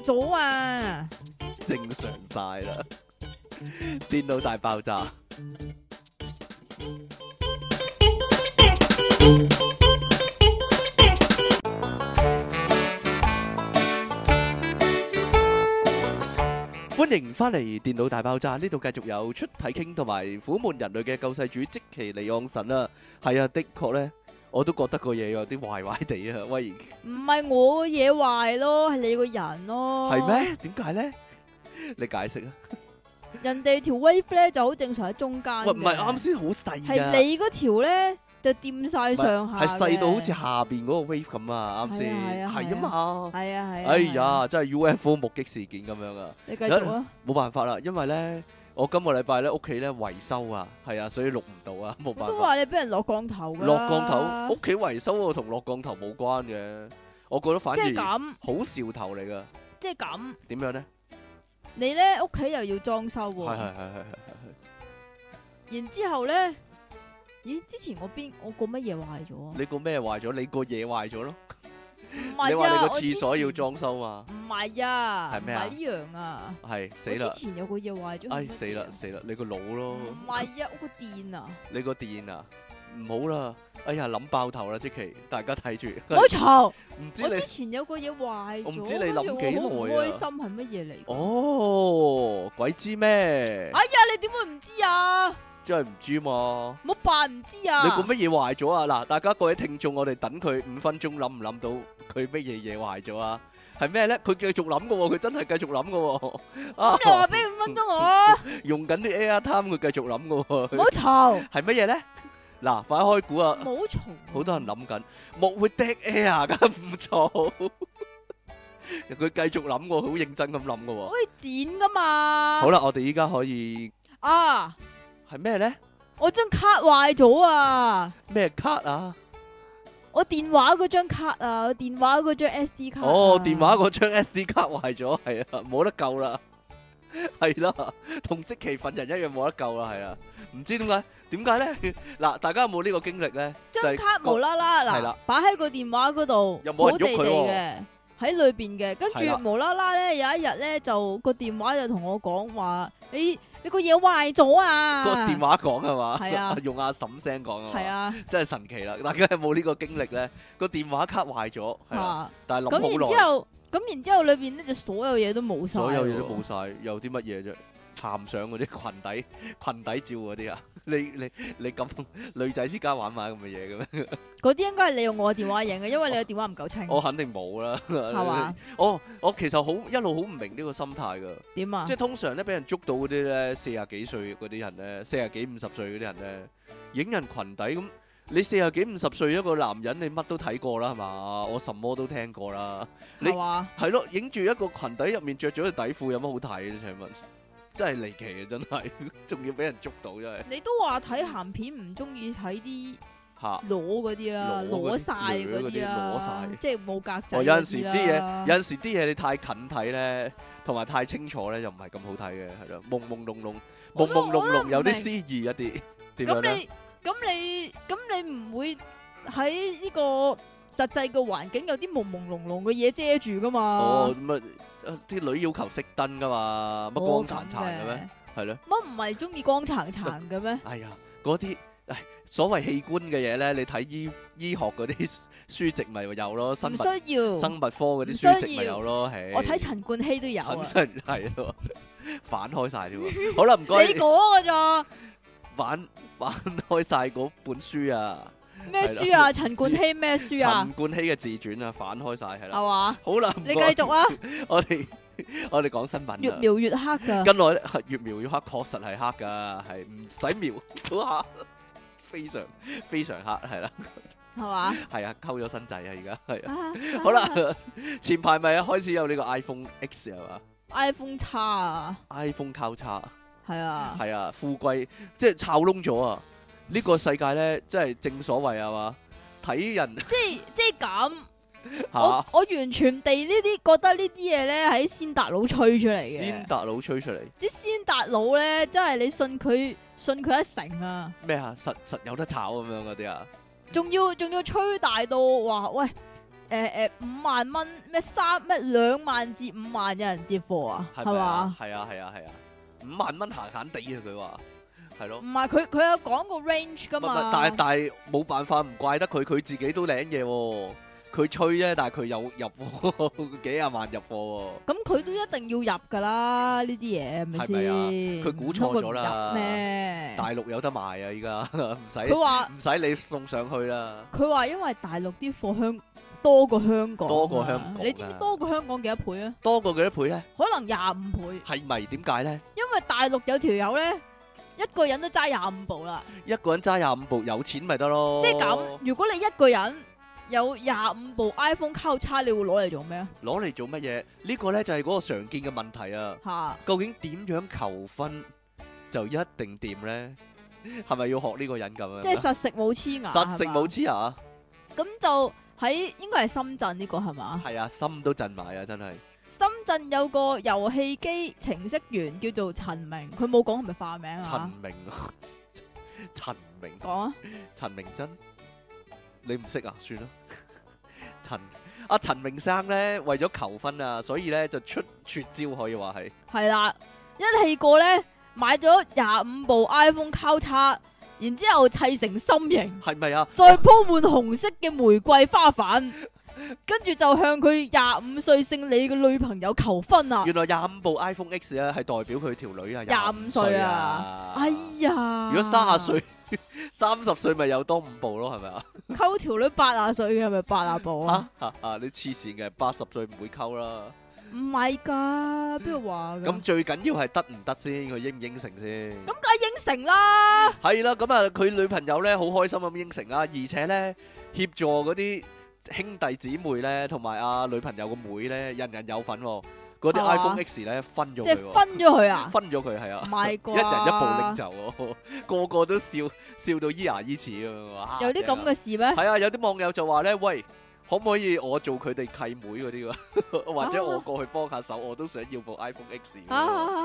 咗啊！ 正常晒啦。電腦大爆炸。歡迎翻嚟《電腦大爆炸》，呢度繼續有出體 king 同埋苦悶人類嘅救世主積淇離岸神啊！係啊，的確咧，我都覺得個嘢有啲壞壞地啊！喂， 唔係我個嘢壞咯，係你個人咯。 係咩？點解咧？你解釋啊！ 人哋條 wave 咧就好正常喺中間嘅。 喂，唔係啱先好細啊！ 係你嗰條咧就掂晒上下嘅， 係細到好似下邊嗰個 wave 咁啊！啱先係啊係啊嘛。 係啊係啊。 哎呀，真係 UFO 目擊事件咁樣啊！ 你繼續啊！ 冇辦法啦，因為咧，我今個禮拜咧屋企咧維修啊，係啊，所以錄唔到啊，冇辦法。 都話你俾人落降頭㗎啦。 落降頭，屋企維修喎，同落降頭冇關嘅。我覺得反而即係咁， 好兆頭嚟噶。 即係咁。 點樣咧？ 你咧屋企又要裝修喎。 係。 然之後咧，咦？之前我個乜嘢壞咗啊？ 你個咩壞咗？你個嘢壞咗咯。 唔係啊， 你話你個我之廁所要前裝修嘛？ 唔係啊， 係咩啊唔係呢樣啊。 係死我之啦！ 前有個嘢壞咗。 哎死啦死啦！你個腦咯， 唔係啊，我個電啊。 你個電啊，唔好啦！哎呀諗爆頭啦，積淇，大家睇住。 唔好嘈！ 唔知你我之前有個嘢壞咗， 我唔知你諗幾耐啊跟住我好唔開心係乜嘢嚟？ 哦，鬼知咩？ 哎呀，你點會唔知啊？ 真係唔知嘛？ 唔好扮唔知啊！ 你個乜嘢壞咗啊？嗱，大家各位聽眾，我哋等佢5分鐘，諗唔諗到佢乜嘢壞咗啊？係咩咧？佢繼續諗嘅喎，佢真係繼續諗嘅喎。啊， 咁你話俾5分鐘我， 用緊啲 Airtime，佢繼續諗嘅喎。 唔好嘈！ 係乜嘢咧？嗱，快開估啊！ 唔好嘈！ 好多人諗緊，木會 dead air 㗎，唔錯。佢繼續諗喎，好認真咁諗嘅喎。 可以剪噶嘛？ 好啦，我哋依家可以啊！ 係咩咧？ 我張卡壞咗啊！ 咩卡啊？ 我電話嗰張卡啊，我電話嗰張 SD 卡啊。 哦，電話嗰張 SD 卡壞咗，係啊，冇得救啦，係啦，同積淇份人一樣冇得救啦，係啊，唔知點解咧？嗱，大家有冇呢個經歷咧？ 張卡無啦啦係啦嗱，擺喺個電話嗰度， 又冇人喐佢喎嘅，喺裏邊嘅，跟係啦住無啦啦咧，有一日咧就個電話就同我講話，你個嘢壞咗啊！ 個電話講係嘛？ 係啊用阿嬸聲講啊嘛？ 係啊， 真係神奇啦！大家有冇呢個經歷咧？個電話卡壞咗，係啦， 嚇但係諗咁然之好耐， 後，咁然之後裏邊咧就所有嘢都冇晒， 所有嘢都冇晒，有啲乜嘢啫？鹹相嗰啲裙底照嗰啲啊？你咁女仔之間玩埋咁嘅嘢嘅咩？ 嗰啲應該係你用我嘅電話影嘅，因為你嘅電話唔夠清， 我肯定冇啦， 係嘛？ 我其實一路好唔明呢個心態噶， 點啊即係？通常咧俾人捉到嗰啲咧40幾歲嗰啲人咧，40幾50歲嗰啲人咧，影人裙底咁，你40幾50歲一個男人，你乜都睇過啦係嘛？我什麼都聽過啦，你係嘛？ 係咯，影住一個裙底入面着咗條底褲有乜好睇咧？請問，真係離奇啊！真係，仲要俾人捉到真係你都話睇鹹片唔中意睇啲嚇。 攞嗰啲啦， 攞嗰啲攞晒嗰啲啦， 攞晒即係冇格仔哦，有陣時啲嘢，有嘢， 陣時啲嘢你太近睇咧，同埋太清楚咧，就唔係咁好睇嘅，係咯，朦朦朧朧，朦朦朧朧，有啲詩意一啲，點樣咧？ 咁你唔會喺呢個實際嘅環境有啲朦朦朧朧嘅嘢遮住噶嘛？ 哦，咁啊，啲女要求熄燈噶嘛，乜光殘殘嘅咩？係咯， 乜唔係中意光殘殘嘅咩？ 哎呀，嗰啲所謂器官嘅嘢咧，你睇醫學嗰啲書籍咪有咯，生唔物需要， 科嗰啲書籍咪有咯，係。 我睇陳冠希都有啊， 肯定係咯，反開晒添喎。好啦，唔該你。講噶咋？ 反開晒嗰本書啊！ 咩書啊？陳冠希咩書啊陳？冠希嘅自傳啊，反開晒係啦。 係嘛？ 好啦，唔你該繼續啊！ 我哋講新聞啦。 越描越黑噶， 近來咧係越描越黑，確實係黑噶，係唔使描都黑，非常非常黑係啦， 係嘛係啊，溝咗新仔啊，而家係啊。 啊？ 好啦，前排咪開始有呢個 iPhone X 係嘛 ，iPhone 叉啊， ，iPhone 交叉。 係啊， 係啊，富貴即係炒窿咗啊！呢個世界咧，即係正所謂係嘛，睇人即係咁。 嚇我完全地呢啲覺得呢啲嘢咧喺先達佬吹出嚟嘅， 先達佬吹出嚟啲先達佬咧真係你信佢一成啊！ 咩啊？實有得炒咁樣嗰啲啊！ 仲要吹大到話喂， 5萬蚊咩2萬至5萬有人接貨啊，係嘛係咪啊？？係啊係啊係啊，5萬蚊閒閒地啊！佢話係咯唔。係佢有講個 range 噶唔係嘛？ 但係冇辦法，唔怪得佢，佢自己都領嘢喎。佢吹啫，但係佢有入貨幾廿萬入貨咁佢都一定要入噶啦，呢啲嘢係咪先？ 係咪啊佢估錯咗啦唔通佢唔入咩喎。？大陸有得賣啊！依家唔使佢話唔使你送上去啦。 佢話因為大陸啲貨多過香港啊， 多過香港啊你知唔知多過香港幾多倍啊？ 多過幾多倍咧？ 可能25倍， 係咪點解咧？ 因為大陸有條友咧，一個人都揸25部啦。 一個人揸25部，有錢咪得咯。 即係咁，如果你一個人有25部 iPhone 交叉，你會攞嚟做咩啊？ 攞嚟做乜嘢？呢個咧就係嗰個常見嘅問題啊！ 吓， 究竟點樣求婚就一定掂咧？係咪要學呢個人咁樣？ 即係實食冇黐牙， 實食冇係嘛黐牙。 咁就喺應該係深圳呢個係嘛？ 係啊，心都震埋啊！真係。 深圳有個遊戲機程式員叫做陳明，佢冇講係咪化名陳啊？ 明啊，陳明， 講啊， 陳明真，你唔識啊？算啦。陳明生咧，為咗求婚啊，所以咧就出絕招，可以話係。 係啦，一氣過咧買咗25部 iPhone 交叉，然之後砌成心形， 係咪啊？ 再鋪滿紅色嘅玫瑰花瓣，跟住就向佢25歲姓李嘅女朋友求婚啊！ 原來25部 iPhone X 咧係代表佢條女啊 25歲啊！哎呀， 如果30歲、30歲咪有多5部咯，係咪啊？ 溝條女80歲嘅係咪80部啊？ 你黐線嘅，80歲唔會溝啦。 唔係㗎，邊個話㗎？ 咁最緊要係得唔得先，佢應唔應承先？ 咁梗係應承啦！ 係啦，咁啊，佢女朋友咧好開心咁應承啦，而且咧協助嗰啲兄弟姊妹咧，同埋阿女朋友個妹咧，人人有份喎。嗰啲係嘛 iPhone X 咧分咗即係佢喎， 分咗佢啊！ 分咗佢係啊唔，係啩？ 一人一部拎走喎，個個都笑到咿牙咿齒啊！ 有啲咁嘅事咩？ 係啊，有啲網友就話咧，喂，可唔可以我做佢哋契妹嗰啲㗎？或者我過去幫下手，我都想要部 iPhone X 喎。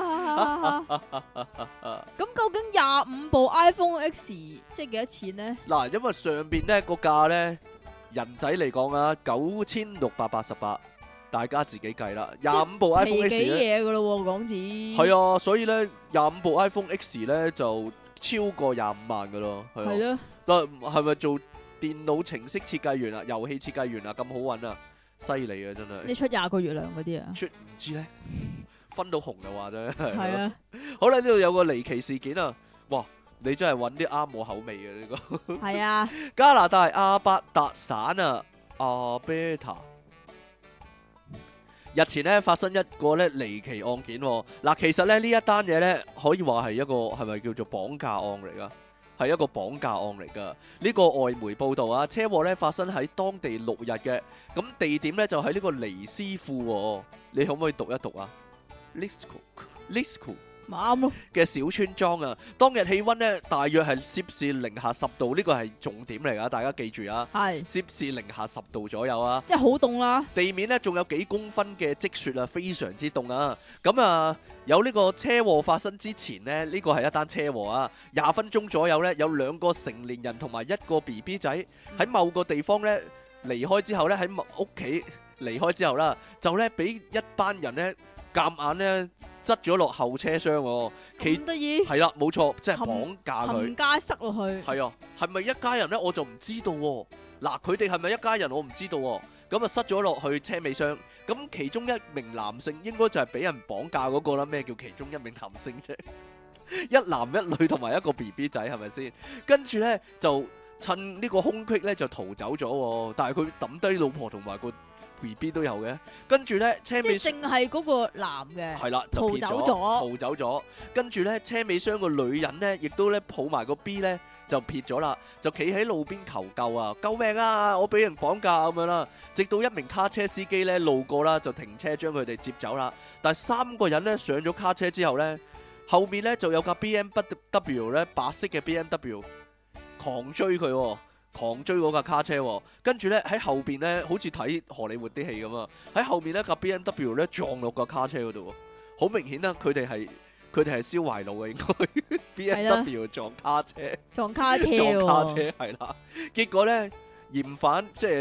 咁究竟25部 iPhone X 即係幾多錢呢？ 嗱，因為上邊咧個價咧，人仔嚟講啊，9688，大家自己計啦。25部 iPhone 皮 X 幾咧， 嘢噶咯喎，港紙。 係啊，所以咧25部 iPhone X 咧就超過25萬噶咯，係係啊。 咯， 嗱，係咪做電腦程式設計員啊、遊戲設計員啊咁好揾啊？犀利啊，真係。 你出20個月糧嗰啲啊？ 出唔知咧，分到紅就話啫。 係啊， 好啦，呢度有個離奇事件啊！哇，你真係揾啲啱我口味嘅呢個。 係啊， 加拿大阿伯達省啊，阿貝塔日前咧發生一個咧離奇案件喎。嗱，其實咧呢一單嘢咧可以話係一個係咪叫做綁架案嚟噶？係一個綁架案嚟噶。呢個外媒報道啊，車禍咧發生喺當地6日嘅，咁地點咧就喺呢個尼斯庫喎。你可唔可以讀一讀啊？Lisco 咪啱咯。 嘅小村莊啊，當日氣温呢大約係攝氏-10度，呢個係重點嚟噶，大家記住啊！ 係， 攝氏-10度左右啊， 即係好凍啦。 地面呢仲有幾公分嘅積雪啊，非常之凍啊！咁啊，有呢個車禍發生之前呢，呢個係一單車禍啊，20分鐘左右呢，有2個成年人同埋1個 BB 仔喺某個地方呢離開之後呢，喺屋企離開之後啦，就呢俾一班人呢夾硬呢塞咗落後車廂喎， 咁得意， 係啦，冇錯，即係綁架佢冚。家塞落去。 係啊，係咪一家人呢？我就唔知道喎。嗱，佢哋係咪一家人？我唔知道喎。咁啊，塞咗落去車尾箱。咁其中一名男性應該就係俾人綁架嗰個啦。咩叫其中一名男性啫？一男一女同埋一個 BB 仔係咪先？跟住呢，就趁呢個空隙呢，就逃走咗喎。但係佢抌低老婆同埋個 BB 都有嘅。跟住呢，車尾即係淨係嗰個男嘅。 係啦，就撇咗逃走咗逃走咗。跟住咧，車尾箱個女人咧，亦都咧抱埋個 B 咧，就撇咗啦，就企喺路邊求救啊！救命啊！我俾人綁架咁樣啦。直到一名卡車司機咧路過啦，就停車將佢哋接走啦。但係3個人咧上咗卡車之後咧，後面咧就有架 BMW 咧白色嘅 BMW 狂追佢喎。狂追嗰架卡車喎，跟住咧喺後邊咧，好似睇荷里活啲戲咁啊！喺後面咧架 BMW 咧撞落個卡車嗰度喎，好明顯啦，佢哋係燒壞腦嘅應該，BMW 撞卡車， 撞卡車撞卡喎。 車係啦，結果咧嫌犯即係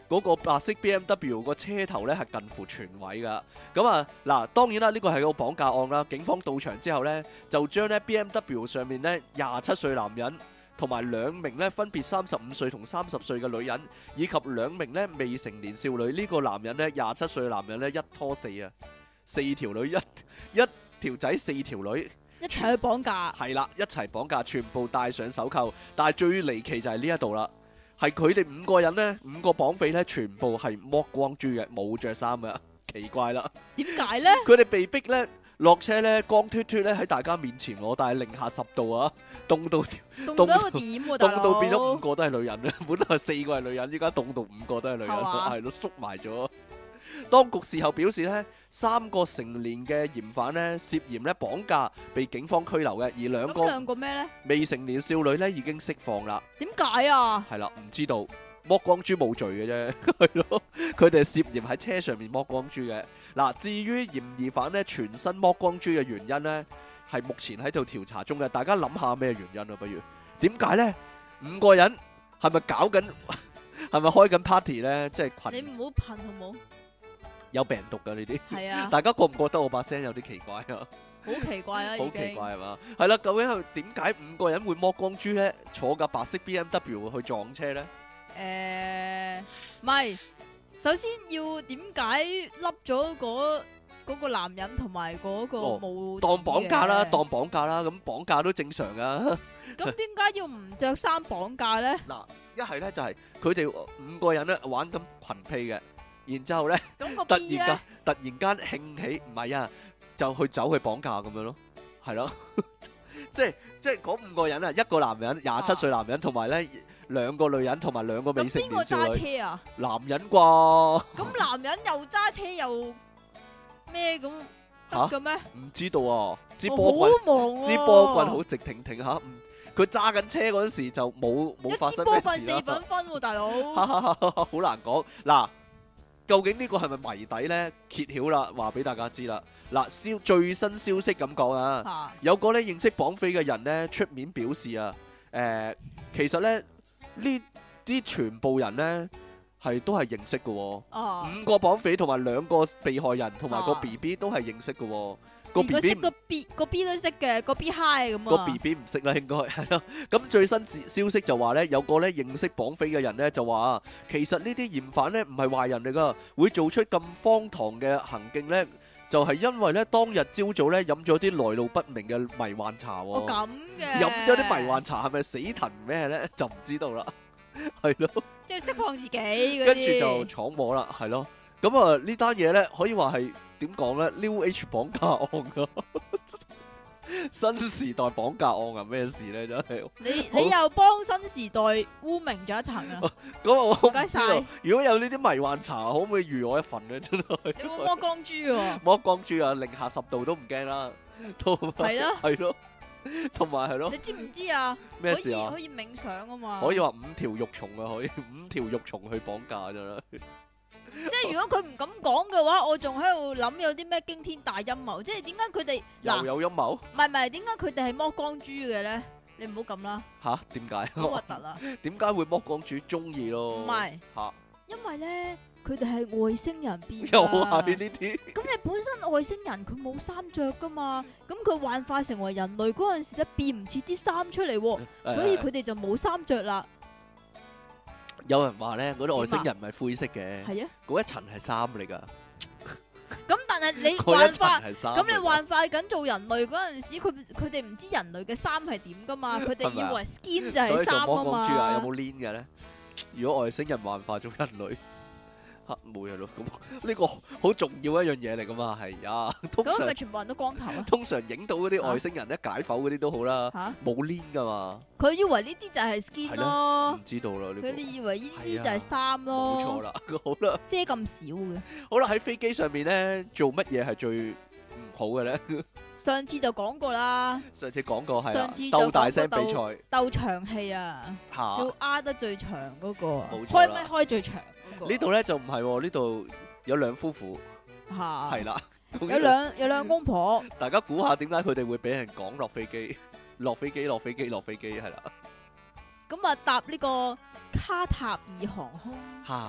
嗰個白色 BMW 個車頭咧係近乎全毀噶。咁啊嗱，當然啦，呢個係個綁架案啦。警方到場之後咧，就將咧 BMW 上面咧27歲男人同埋2名咧分別35歲同30歲嘅女人，以及2名咧未成年少女。呢個男人咧27歲嘅男人咧一拖四啊，4條女一條仔4條女。 一齊去綁架， 係啦，一齊綁架，全部戴上手銬。但係最離奇就係呢一度啦，係佢哋5個人呢，5個綁匪呢，全部係剝光豬嘅，冇着衫嘅，奇怪啦。 點解呢？ 佢哋被逼呢落車呢，光脫脫呢喺大家面前喎，但係零下10度啊，凍到凍到一個點喎，大佬。 凍到變咗5個都係女人啦，本來4個係女人，依家凍到5個都係女人，係咯，縮埋咗。當局事後表示呢，3個成年嘅嫌犯呢涉嫌咧綁架，被警方拘留嘅，而兩個咩呢？ 未成年少女呢已經釋放啦。 點解啊？ 係啦，唔知道剝光豬冇罪嘅啫，係咯，佢哋涉嫌喺車上面剝光豬嘅。嗱，至於嫌疑犯呢全身剝光豬嘅原因呢，係目前喺度調查中嘅。大家諗下咩原因啊？不如點解呢？5個人係咪搞緊？係咪開緊 party 呢？即係群。 你唔好噴好冇？ 有病毒噶呢啲， 係啊！ 大家覺唔覺得我把聲有啲奇怪啊？ 好奇怪啊！ 好奇怪係嘛？係啦，究竟係點解5個人會剝光豬咧？坐架白色 BMW 去撞車咧？ 唔係，首先要點解笠咗嗰個男人同埋嗰個冇當綁架啦，當綁架啦，咁綁架都正常噶。 咁點解要唔着衫綁架咧？ 嗱，一係咧就係佢哋5個人咧玩緊群批嘅。然之後咧，突然間興起，唔係啊，就去走去綁架咁樣咯，係咯，即係嗰5個人啊，一個男人27歲男人，同埋咧2個女人，同埋2個未成年少女。 咁邊個揸車啊？ 男人啩？ 咁男人又揸車又咩咁得嘅咩？ 唔知道啊，支波棍好直挺挺嚇，佢揸緊車嗰陣時就冇發生咩事啦。一支波棍4 分喎，大佬。 好難講嗱。究竟呢個係咪謎底呢？揭曉啦，話俾大家知啦。嗱，最新消息咁講啊，有個咧認識綁匪嘅人呢出面表示啊，其實咧呢啲全部人呢都係認識嘅喎。5個綁匪同埋2個被害人同埋個 BB 都係認識嘅喎。個 B 都識嘅，個 B high 咁啊。 個 BB 唔識啦，應該係咯。咁最新消息就話咧，有個咧認識綁匪嘅人咧就話，其實呢啲嫌犯咧唔係壞人嚟噶，會做出咁荒唐嘅行徑咧，就係因為咧當日朝早咧飲咗啲來路不明嘅迷幻茶。 哦，咁嘅。 飲咗啲迷幻茶係咪死藤咩咧？就唔知道啦。係咯。即係釋放自己嗰啲。 跟住就闖禍啦，係咯。咁啊呢單嘢咧可以話係。點講咧 ？New Age 綁架案啊，新時代綁架案啊，咩事咧？真係你又幫新時代污名咗一層啊！ 咁我唔該晒。 如果有呢啲迷幻茶，可唔可以預我一份咧？真係。 你冇剝光豬喎？ 剝光豬啊，零下10度都唔驚啦。係咯，係咯，同埋係咯。 你知唔知啊？ 咩事啊？ 可以冥想啊嘛。 可以話5條肉蟲啊，可以5條肉蟲去綁架咋啦。 即係如果佢唔敢講嘅話，我仲喺度諗有啲咩驚天大陰謀。即係點解佢哋又有陰謀？ 唔係，點解佢哋係剝光豬嘅咧？你唔好咁啦。 吓？點解？ 好核突啊！ 點解會剝光豬？中意咯。 唔係吓， 因為咧佢哋係外星人變。 又係呢啲。 咁你本身外星人佢冇衫着噶嘛？咁佢幻化成為人類嗰陣時咧變唔切啲衫出嚟，所以佢哋就冇衫着啦。 有人話咧，嗰啲外星人唔係灰色嘅， 係啊， 嗰一層係衫嚟噶。 咁但係你幻化，咁你幻化緊做人類嗰陣時，佢哋唔知人類嘅衫係點噶嘛？佢哋以為 skin 就係衫啊嘛。 所以做剝光豬啊，有冇 link 嘅咧？如果外星人幻化做人類。冇嘢咯，咁呢個好重要一樣嘢嚟噶嘛，係啊。咁係咪全部人都光頭啊？ 通常影到嗰啲外星人咧解剖嗰啲都好啦，冇 link 噶嘛。 佢以為呢啲就係 skin 咯， 唔知道啦。 佢哋以為呢啲就係衫咯。 冇錯啦，好啦。 遮咁少嘅。 好啦，喺飛機上面咧做乜嘢係最唔好嘅咧？ 上次就講過啦。 上次講過係上次鬥大聲比賽， 鬥長氣啊，要壓得最長嗰個，開咪開最長。 呢度咧就唔係喎，呢度有兩夫婦，係啦， 有兩公婆。 大家估下點解佢哋會俾人趕落飛機？落飛機係啦。 咁啊搭呢個卡塔爾航空。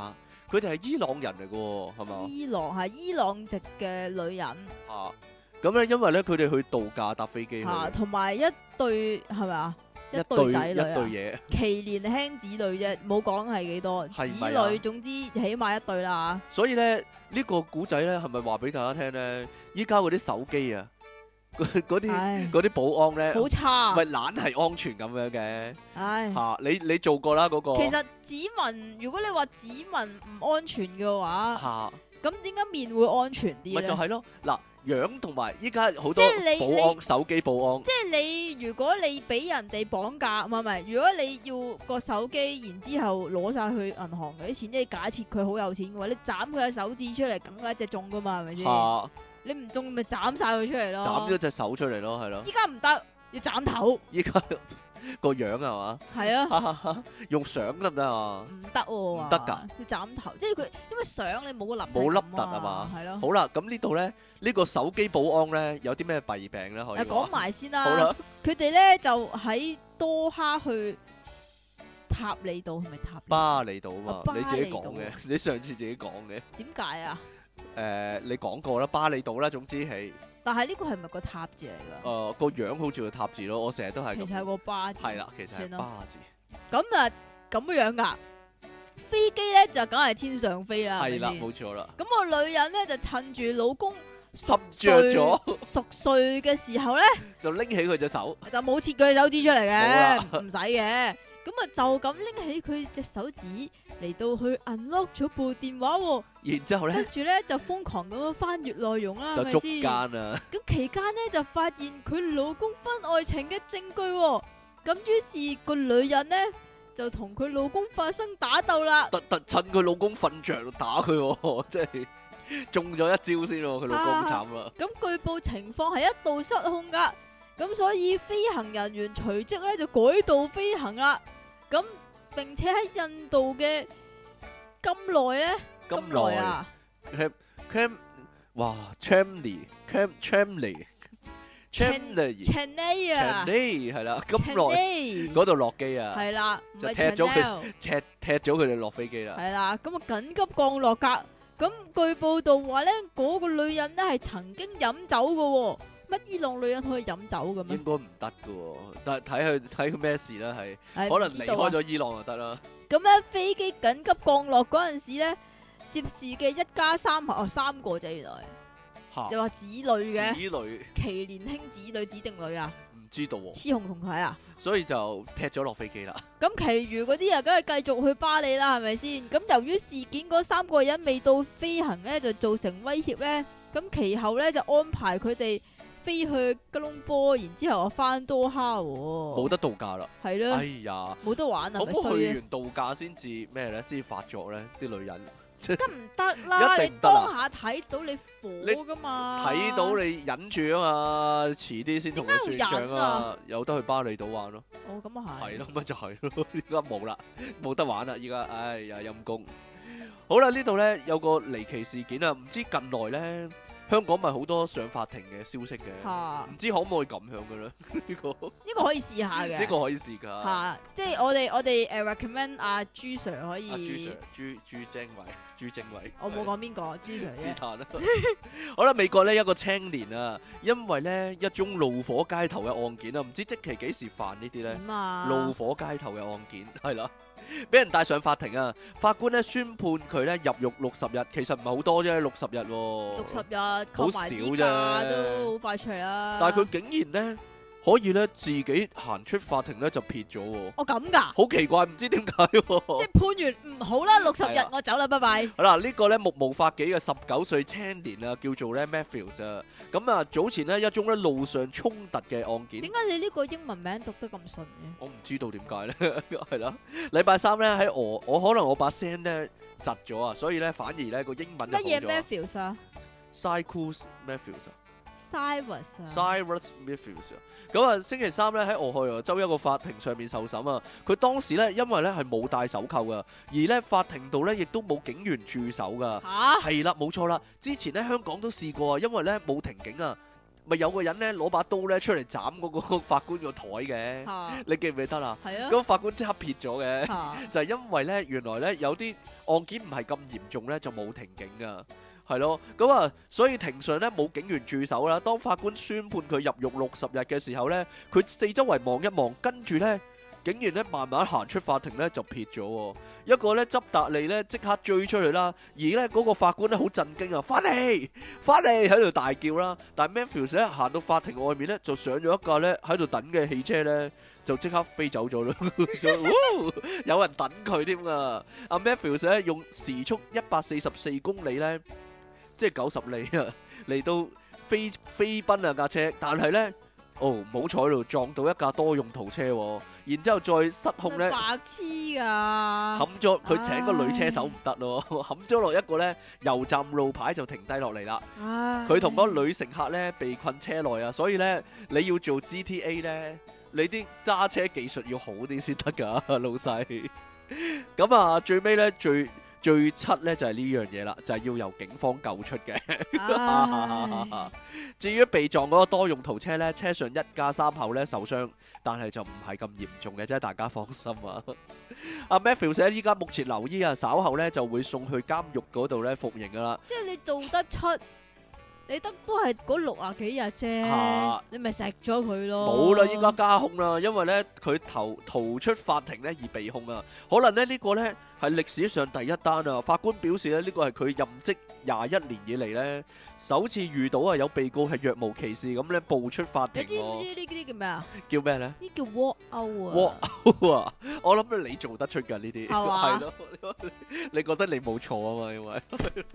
佢哋係伊朗人嚟嘅喎，係嘛？ 伊朗籍嘅女人嚇，咁咧因為咧佢哋去度假搭飛機去， 同埋一對係咪啊？一對對仔女一對嘢， 其年輕子女啫，冇講係幾多係咪啊子女，總之起碼一對啦。 所以咧呢個古仔咧係咪話俾大家聽咧？依家嗰啲手機啊，嗰啲保安咧， 好差， 咪懶係安全咁樣嘅。 唉， 嚇你做過啦嗰個。 其實指紋，如果你話指紋唔安全嘅話， 嚇， 咁點解面會安全啲咧？ 咪就係咯，嗱。樣同埋依家好多即係保安手機保安， 即係你如果你俾人哋綁架，唔係，如果你要個手機，然之後攞晒去銀行嗰啲錢，即係假設佢好有錢嘅話，你斬佢嘅手指出嚟，梗係一隻中噶嘛，係咪先？你唔中咪斬晒佢出嚟咯， 斬咗隻手出嚟咯，係咯。 依家唔得，要斬頭。 依家個樣係嘛？ 係啊， 用相得唔得啊？ 唔得喎， 唔得㗎， 要斬頭，即係佢因為相你冇個凹冇凹凸啊嘛， 係咯。 好啦，咁呢度咧呢個手機保安咧有啲咩弊病咧？可以講埋先啦。 好啦， 佢哋咧就喺多哈去塔利島，係咪塔利巴厘島啊嘛？你自己講巴厘嘅，你上次自己講嘅。 點解啊？ 你講過啦，巴厘島啦，總之係。 但係呢個係咪個塔字嚟㗎？ 個樣好似個塔字咯，我成日都係。 其實係個巴字。 係啦，其實係巴字。 咁啊，咁樣㗎。飛機咧就梗係天上飛啦。 係啦，冇錯啦。 咁個女人咧就趁住老公熟睡嘅時候咧， 就拎起佢隻手， 就冇切佢手指出嚟嘅，唔使嘅。咁啊就咁拎起佢隻手指嚟到去 unlock 咗部電話喎， 然之後咧， 跟住咧就瘋狂咁樣翻閱內容啦， 就捉係咪先？ 奸啊！ 咁期間咧就發現佢老公婚外情嘅證據喎，咁於是個女人咧就同佢老公發生打鬥啦。 特趁佢老公瞓着打佢，即係中咗一招先喎，佢老公慘啦。 咁據報情況係一度失控噶，咁所以飛行人員隨即咧就改道飛行啦。咁並且喺印度嘅咁耐咧，咁耐啊 Cam 哇 Chamley 啊， 係啦，咁耐嗰度落機啊， 係啦， 就踢咗佢哋落飛機啦。 係啦，咁啊緊急降落噶。咁據報道話咧，嗰個女人咧係曾經飲酒噶。乜伊朗女人可以飲酒嘅咩？ 應該唔得噶，但係睇佢咩事啦，係可能離開咗伊朗就得啦。 咁咧飛機緊急降落嗰陣時咧，涉事嘅一家三口三個啫，原來又話子女嘅，子女其年輕子女指定女啊？ 唔知道喎， 雌雄同體啊？ 所以就踢咗落飛機啦。 咁其餘嗰啲啊，梗係繼續去巴黎啦，係咪先？咁由於事件嗰三個人未到飛行咧，就造成威脅咧，咁其後咧就安排佢哋飛去吉隆坡，然之後啊翻多哈， 冇得度假啦， 係咯， 哎呀， 冇得玩啊，咪衰去完度假先至咩咧？先發作咧，啲女人得唔得啦？ 一定得啊！ 你當下睇到你火噶嘛？ 睇到你忍住啊嘛，遲啲先同你算賬啊！有得去巴厘島玩咯。 哦，咁啊係。 係咯，咪就係咯，依家冇啦，冇得玩啦，依家，哎呀陰公。好啦，呢度咧有個離奇事件啊，唔知近來咧。香港咪好多上法庭嘅消息嘅，唔知可唔可以咁樣嘅咧？呢個可以試下嘅， 呢個可以試㗎。 嚇，即係我哋recommend 阿朱 Sir 可以。 朱正偉， 我冇講邊個，朱 Sir 啫。 是但啦。好啦，美國呢一個青年啊，因為呢一宗怒火街頭嘅案件啊，唔知即期幾時犯呢啲咧？ 點啊？ 怒火街頭嘅案件係啦。俾人帶上法庭啊！法官咧宣判佢咧入獄60日，其實唔係好多啫，60日喎。 60日， 好少啫， 都好快出嚟啦。 但係佢竟然咧可以咧自己行出法庭咧就撇咗喎。 哦咁㗎？ 好奇怪，唔知點解喎。 即係判完唔好啦，60日我走啦，拜拜。 好啦，呢個咧目無法紀嘅19歲青年啊，叫做咧 Matthews 啊。咁啊，早前呢一宗咧路上衝突嘅案件。 點解你呢個英文名讀得咁順嘅？ 我唔知道點解咧，係啦。禮拜三咧喺我可能我把聲咧窒咗啊，所以咧反而咧個英文就好咗。 乜嘢 Matthews 啊 ？Cyrus Matthews 啊。 Cyrus Matthews 啊。咁啊，星期三咧喺俄亥俄州一個法庭上面受審啊。佢當時咧因為咧係冇戴手扣噶，而咧法庭度咧亦都冇警員駐守噶。 嚇？ 係啦，冇錯啦。之前咧香港都試過啊，因為咧冇停警啊。 咪有個人咧攞把刀咧出嚟斬嗰個法官個台嘅， 嚇你記唔記得啊？ 係啊咁法官即刻撇咗嘅， 嚇就係因為咧原來咧有啲案件唔係咁嚴重咧，就冇庭警噶。係咯，咁啊，所以庭上咧冇警員駐守啦。當法官宣判佢入獄60日嘅時候咧，佢四周圍望一望，跟住咧，警員咧慢慢行出法庭咧就撇咗喎。一個咧執達利咧即刻追出去啦，而咧嗰個法官咧好震驚啊，翻嚟喺度大叫啦。但係 Matthews 咧行到法庭外面咧就上咗一架咧喺度等嘅汽車咧，就即刻飛走咗啦。有人等佢添啊！阿 Matthews 咧用時速144公里咧。即係90里啊，嚟到飛奔啊架車，但係咧，唔好彩咯，撞到一架多用途車，然之後再失控咧， 白痴㗎， 冚咗佢請個女車手唔得咯，冚咗落一個咧油站路牌就停低落嚟啦。佢同嗰個女乘客咧被困車內啊，所以咧你要做 GTA 咧，你啲揸車技術要好啲先得㗎，老細。咁啊，最尾咧最七咧就係呢樣嘢啦，就係要由警方救出嘅。至於被撞嗰個多用途車咧，車上一家三口咧受傷，但係就唔係咁嚴重嘅啫，大家放心啊。阿 Matthews 咧依家目前留醫啊，稍後咧就會送去監獄嗰度咧服刑噶啦。 即係你做得出，你得都係嗰60幾日啫，你咪錫咗佢咯。 冇啦，依家加控啦，因為咧佢逃出法庭咧而被控啊。可能咧呢個咧係歷史上第一單啊。法官表示咧呢個係佢任職21年以嚟咧首次遇到啊有被告係若無其事咁咧步出法庭。 你知唔知呢啲叫咩啊？ 叫咩咧？ 呢叫 walk out 啊 ！walk out 啊！我諗你做得出㗎呢啲， 係嘛？ 係咯，你覺得你冇錯啊嘛？因為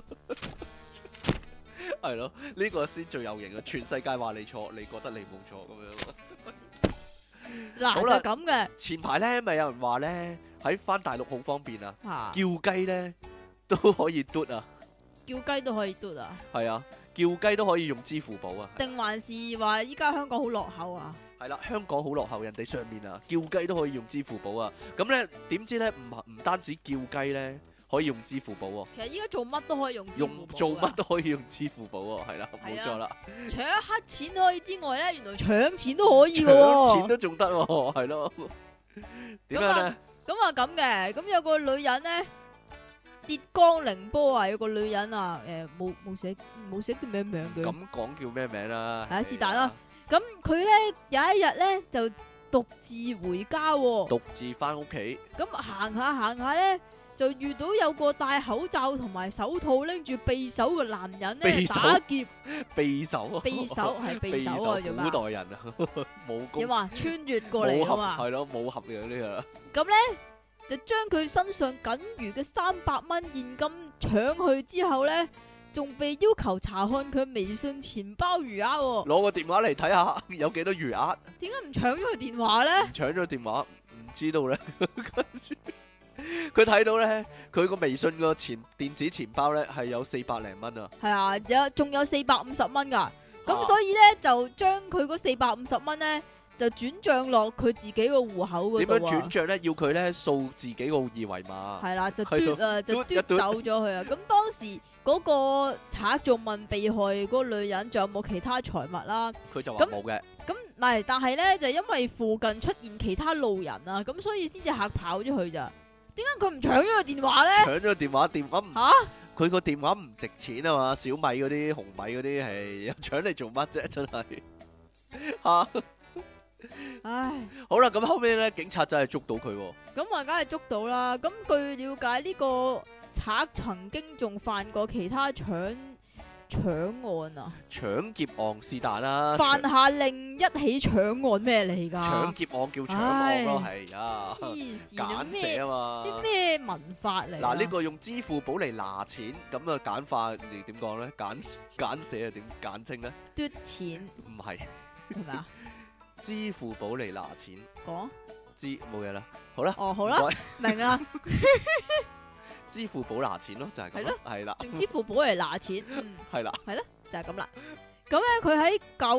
係咯，呢個先最有型啊！全世界話你錯，你覺得你冇錯咁樣。 嗱， 好啦就咁嘅。 前排咧咪有人話咧喺翻大陸好方便啊， 嚇叫雞咧都可以嘟啊， 叫雞都可以嘟啊？ 係啊，叫雞都可以用支付寶啊， 定還是話依家香港好落後啊？ 係啦，香港好落後，人哋上面啊，叫雞都可以用支付寶啊，咁咧點知咧唔單止叫雞咧可以用支付寶喎， 其實依家做乜都可以用支付寶㗎， 做乜都可以用支付寶喎，係啦， 係啊冇錯啦， 除咗黑錢可以之外咧，原來搶錢都可以嘅搶錢喎。 都仲得喎，係咯，點樣咧？ 咁啊咁嘅，咁有個女人咧，浙江寧波啊，有個女人啊，冇寫叫咩名嘅。 咁講叫咩名啦？ 係啊是但啦。咁佢咧有一日咧就獨自回家喎。 獨自翻屋企， 咁行下咧，就遇到有個戴口罩同埋手套拎住匕首嘅男人咧匕首打劫。 匕首啊！ 匕首係匕首啊，做咩古代人啊，武功點話穿越過嚟武俠噶嘛？ 係咯，武俠嘅呢個啦。 咁咧就將佢身上僅餘嘅300蚊現金搶去之後咧，仲被要求查看佢微信錢包餘額喎。 攞個電話嚟睇下有幾多餘額， 點解唔搶咗佢電話咧？ 搶咗電話唔知道咧。跟住佢睇到咧，佢個微信個電子錢包咧係有400零蚊啊。 係啊，仲有450蚊噶。咁所以咧就將佢嗰450蚊咧就轉賬落佢自己個戶口嗰度點樣轉賬咧？要佢咧掃自己個二維碼。 係啦，就係咯嘟啊，就嘟一嘟嘟走咗佢啊！咁當時嗰個賊仲問被害嗰個女人仲有冇其他財物啦。 佢就話冇嘅。 咁唔係，但係咧就因為附近出現其他路人啊，咁所以先至嚇跑咗佢咋。點解佢唔搶咗個電話咧？ 搶咗電話唔嚇！ 佢個電話唔值錢啊嘛，小米嗰啲、紅米嗰啲係搶嚟做乜啫？真係嚇！ 唉， 好啦，咁後尾咧，警察真係捉到佢喎。 咁啊，梗係捉到啦。咁據了解，呢個賊曾經仲犯過其他搶案啊， 搶劫案是但啦， 犯下另一起搶案咩嚟㗎？ 搶劫案叫搶案咯，係啊， 黐線簡寫啊嘛。 啲咩文法嚟？ 嗱，呢個用支付寶嚟拿錢，咁啊簡化你點講咧？簡寫啊點簡稱咧？ 嘟錢唔係， 係咪啊？ 支付寶嚟拿錢， 講冇嘢啦。好啦， 哦好啦，明啦， 支付寶拿錢咯，就係咁咯，係啦， 用支付寶嚟拿錢， 係啦， 係咯，就係咁啦。咁咧，佢喺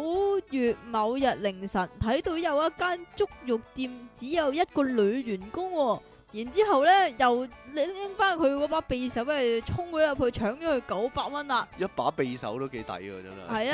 9月某日凌晨睇到有一間足浴店只有一個女員工喎，然之後咧又拎翻佢嗰把匕首，跟住衝咗入去搶咗佢900蚊啦。 一把匕首都幾抵喎，真係。 係啊，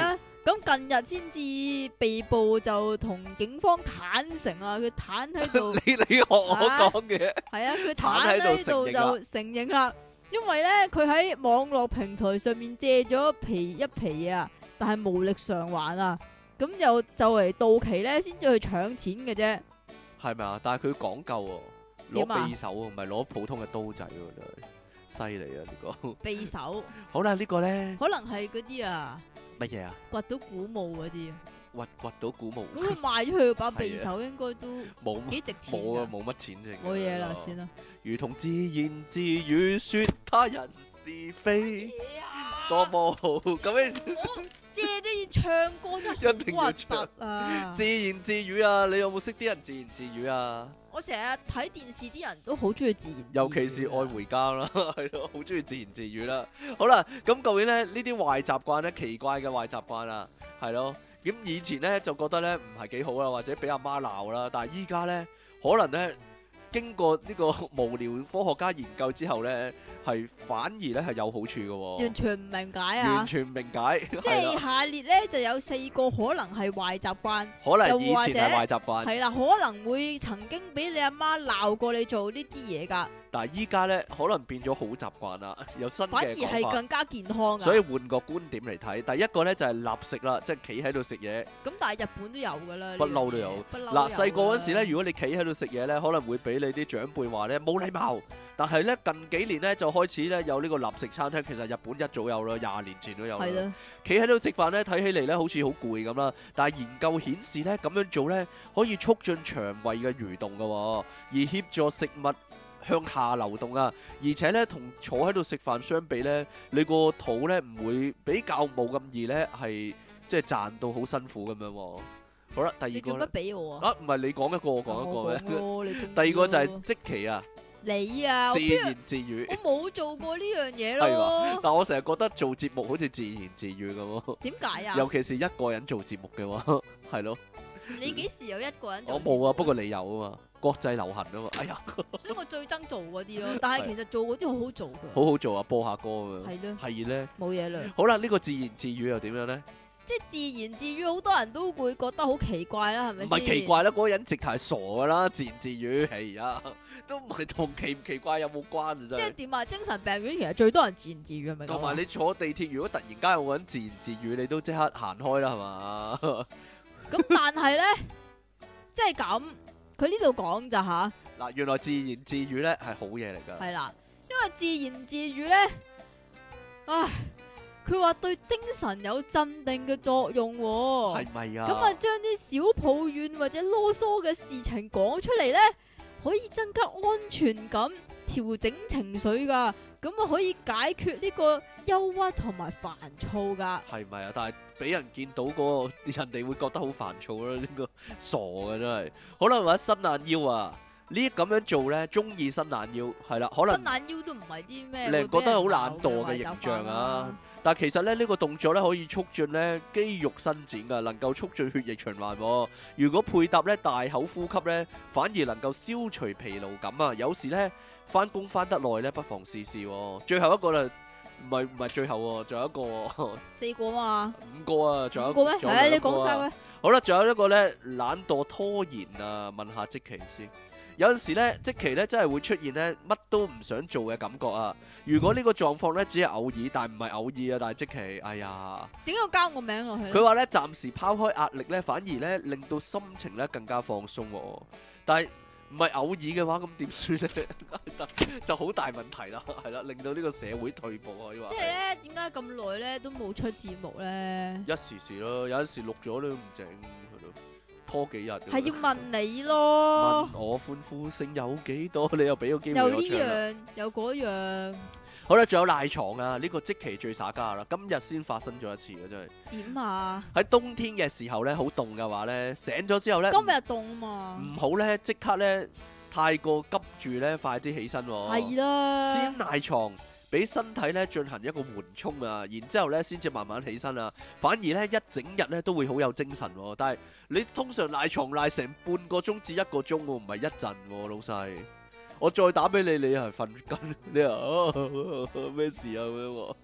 咁近日先至被捕，就同警方坦誠啊，佢坦喺度， 你學我講嘅， 係啊，佢坦坦喺喺度就度承認啦承認啦，因為咧佢喺網絡平台上面借咗一皮啊，但係無力償還啊，咁又就嚟到期咧，先至去搶錢嘅啫。 係咪啊？但係佢講究喎， 點啊攞匕首喎，唔係攞普通嘅刀仔喎，真係犀利啊！呢個匕首好啦，呢個咧可能係嗰啲啊， 乜嘢啊？ 掘到古墓嗰啲啊， 掘到古墓， 咁佢賣咗佢把係匕啊首應該都冇幾值錢冇啊， 㗎。 冇乜錢剩。 冇嘢啦，算啦。 如同自言自語說他人是非，多麼好咁樣。 我借啲唱歌真係一定要好核突啊！ 自言自語啊！你有冇識啲人自言自語啊？ 我成日睇電視啲人都好中意自言自語啊， 尤其是愛回家啦，係咯，好中意自言自語啦。好啦，咁究竟咧呢啲壞習慣咧，奇怪嘅壞習慣啊，係咯。咁以前咧就覺得咧唔係幾好啦，或者俾阿媽鬧啦。但係依家咧可能咧經過呢個無聊科學家研究之後咧，係反而咧係有好處嘅喎。 完全唔明解完啊！ 全唔明解， 即係啦係下列咧就有4個可能係壞習慣， 可能以前係又或壞習慣， 係啦，可能會曾經俾你阿媽鬧過你做呢啲嘢㗎， 但係依家咧可能變咗好習慣啦，有新反而嘅講法。 係更加健康㗎。 所以換個觀點嚟睇，第一個咧就係立食啦，即係企喺度食嘢， 咁但係日本都有㗎啦， 不嬲都有。 不嬲嗱，細個嗰時咧， 如如果你企喺度食嘢咧，可能會俾你啲長輩話咧冇禮貌。但係咧近幾年咧就開始咧有呢個立食餐廳，其實日本一早有啦，20年前都有啦。 係啦， 企喺度食飯咧，睇起嚟咧好似好攰咁啦。但係研究顯示咧，咁樣做咧可以促進腸胃嘅蠕動嘅喎，而協助食物向下流動啊。而且咧，同坐喺度食飯相比咧，你個肚咧唔會比較冇咁易咧係即係賺到好辛苦咁樣喎。好啦，第二個呢你做乜俾我啊？ 啊，唔係你講一個，我講一個我咩？ 講咯你中意第二個就係咯即期啊， 你啊， 自我邊言自語我冇做過呢樣嘢係嘛咯。 但我成日覺得做節目好似自言自語咁喎， 點解啊？ 尤其是一個人做節目嘅話，係咯。 你幾時有一個人做？ 我冇啊，不過你有啊嘛，國際流行啊嘛。哎呀， 所以我最憎做嗰啲咯。但係其實做嗰啲好好做㗎。 好好做啊，播下歌咁樣。 係咯， 係咧。 冇嘢啦。 好啦，呢個自言自語又點樣咧？ 即係自言自語，好多人都會覺得好奇怪啦，係咪唔先？ 係奇怪啦，嗰個人直頭係傻噶啦，自言自語。係呀，都唔係同奇唔奇怪有冇關啊，真係。 即係點啊？精神病院其實最多人自言自語係咪咁啊？ 同埋你坐地鐵，如果突然間有個人自言自語，你都即刻行開啦，係嘛？ 咁但係咧，即係咁，佢呢度講咋吓？ 嗱，原來自言自語咧係好嘢嚟㗎。 係啦，因為自言自語咧，唉，佢話對精神有鎮定嘅作用喎。 係咪啊？ 咁啊，將啲小抱怨或者囉嗦嘅事情講出嚟咧，可以增加安全感，調整情緒噶。咁啊，可以解決呢個憂鬱同埋煩躁噶。 係咪啊？但係俾人見到嗰個人哋會覺得好煩躁啦，呢個傻嘅真係。好啦，或者伸懶腰啊，呢咁樣做咧，中意伸懶腰係啦，可能伸懶腰都唔係啲咩， 令人覺得好懶惰嘅形象啊。但係其實咧，呢個動作咧可以促進咧肌肉伸展噶，能夠促進血液循環喎。如果配搭咧大口呼吸咧，反而能夠消除疲勞感啊。有時咧翻工翻得耐咧，不妨試試喎。最後一個啦，唔係最後喎，仲有一個喎 4個嘛， 5個啊，仲有 5個咩？ 仲有係啊，你兩個啊講晒佢。 好啦，仲有一個咧懶惰拖延啊，問下積淇先。有陣時咧，積淇咧真係會出現咧乜都唔想做嘅感覺啊。如果呢個狀況咧只係偶爾，但唔係偶爾啊，但係積淇，哎呀， 點解要加我名落去咧？ 佢話咧暫時拋開壓力咧，反而咧令到心情咧更加放鬆喎。但係唔係偶爾嘅話，咁點算咧？就好大問題啦，係啦，令到呢個社會退步可以話。 即係咧，點解咁耐咧都冇出節目咧？ 一時時咯，有陣時錄咗你都唔整，係咯，拖幾日。 係要問你咯問，我歡呼聲有幾多？你又俾個機會又呢我唱啦。 樣又嗰樣， 好啦，仲有賴床啊！呢個積淇最耍家啦，今日先發生咗一次嘅真係。 點啊？ 喺冬天嘅時候咧，好凍嘅話咧，醒咗之後咧， 今日凍嘛？ 唔好咧，即刻咧太過急住咧，快啲起身喎。 係啦， 先賴床，俾身體咧進行一個緩衝啊，然之後咧先至慢慢起身啊。反而咧一整日咧都會好有精神喎。但係你通常賴床賴成半個鐘至1個鐘喎，唔係一陣喎，老細。我再打俾你，你係瞓緊，你話咩事啊咁樣喎？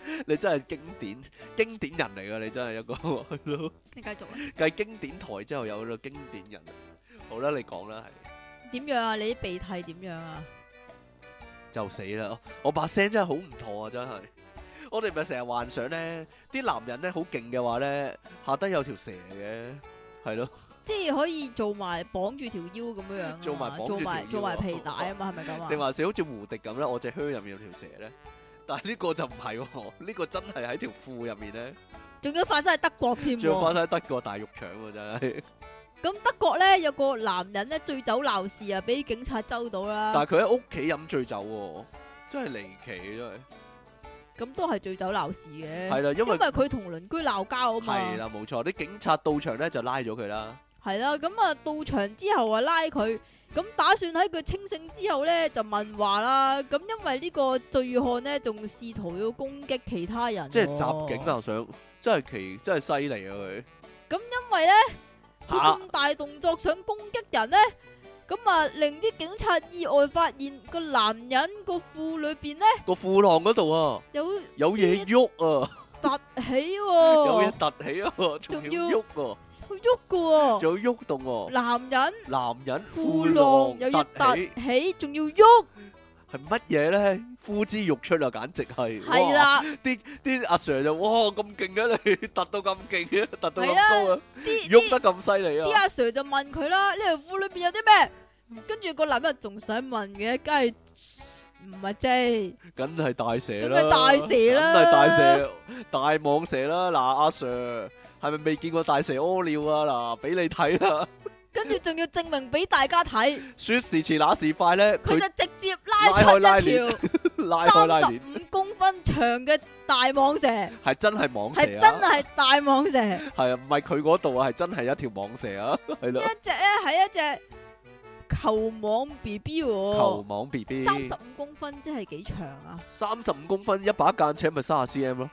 你真係經典人嚟噶，你真係一個係咯。 你繼續啊。 繼經典台之後有個經典人，好啦，你講啦，係點樣啊？你啲鼻涕點樣啊？ 就死啦！我把聲真係好唔妥啊，真係。我哋咪成日幻想咧，啲男人咧好勁嘅話咧，下低有條蛇嘅，係咯， 即係可以做埋綁住條腰咁樣樣啊嘛， 做埋綁住條腰做埋皮帶啊嘛，係咪咁啊？ 定還是好似胡迪咁咧？我隻靴入面有條蛇咧，但係呢個就唔係喎，呢個真係喺條褲入面咧， 仲要發生喺德國添仲要發喎。 生喺德國大肉腸喎，真係。 咁德國咧有個男人咧醉酒鬧事啊，俾警察捉到啦。 但係佢喺屋企飲醉酒喎，真係離奇真係。 咁都係醉酒鬧事嘅。 係啦，因為佢同鄰居鬧交啊嘛。 係啦，冇錯，啲警察到場咧就拉咗佢啦。 係啦，咁啊到場之後啊拉佢，咁打算喺佢清醒之後咧就問話啦。咁因為呢個醉漢咧仲試圖要攻擊其他人喎， 即係襲警啊！想真係犀利啊佢。 因為咧佢咁大動作想攻擊人咧，咁啊令啲警察意外發現個男人個褲裏邊咧個褲浪嗰度啊，有嘢喐啊， 凸起喎， 有嘢凸起啊，仲要喐喎， 喐噶喎， 仲要喐動喎。男人褲浪又要突凸起， 起，仲要喐， 係乜嘢咧？呼之欲出啊，簡直係。 係啦， 啲阿 Sir 就哇咁勁嘅你，突到咁勁嘅，突到咁係啊高啊，喐得咁犀利啊！ 啲阿 Sir 就問佢啦，呢條褲裏邊有啲咩？跟住個男人仲想問嘅，梗係唔係 J， 梗係大蛇啦， 梗係大蛇啦， 梗係大蛇、大蟒蛇啦。嗱，阿 Sir 係咪未見過大蛇屙尿啊？嗱，俾你睇啦。 跟住仲要證明俾大家睇， 說時遲那時快咧， 佢佢就直接拉出一條拉開拉鏈， 35公分長嘅大蟒蛇， 係真係蟒蛇啊！ 係真係大蟒蛇， 係啊，唔係佢嗰度啊，係真係一條蟒蛇啊，係咯。 一隻咧係一隻球蟒 B B 球喎， 蟒 B B， 35公分即係幾長啊？ 35公分，一把間尺咪30 cm 咯。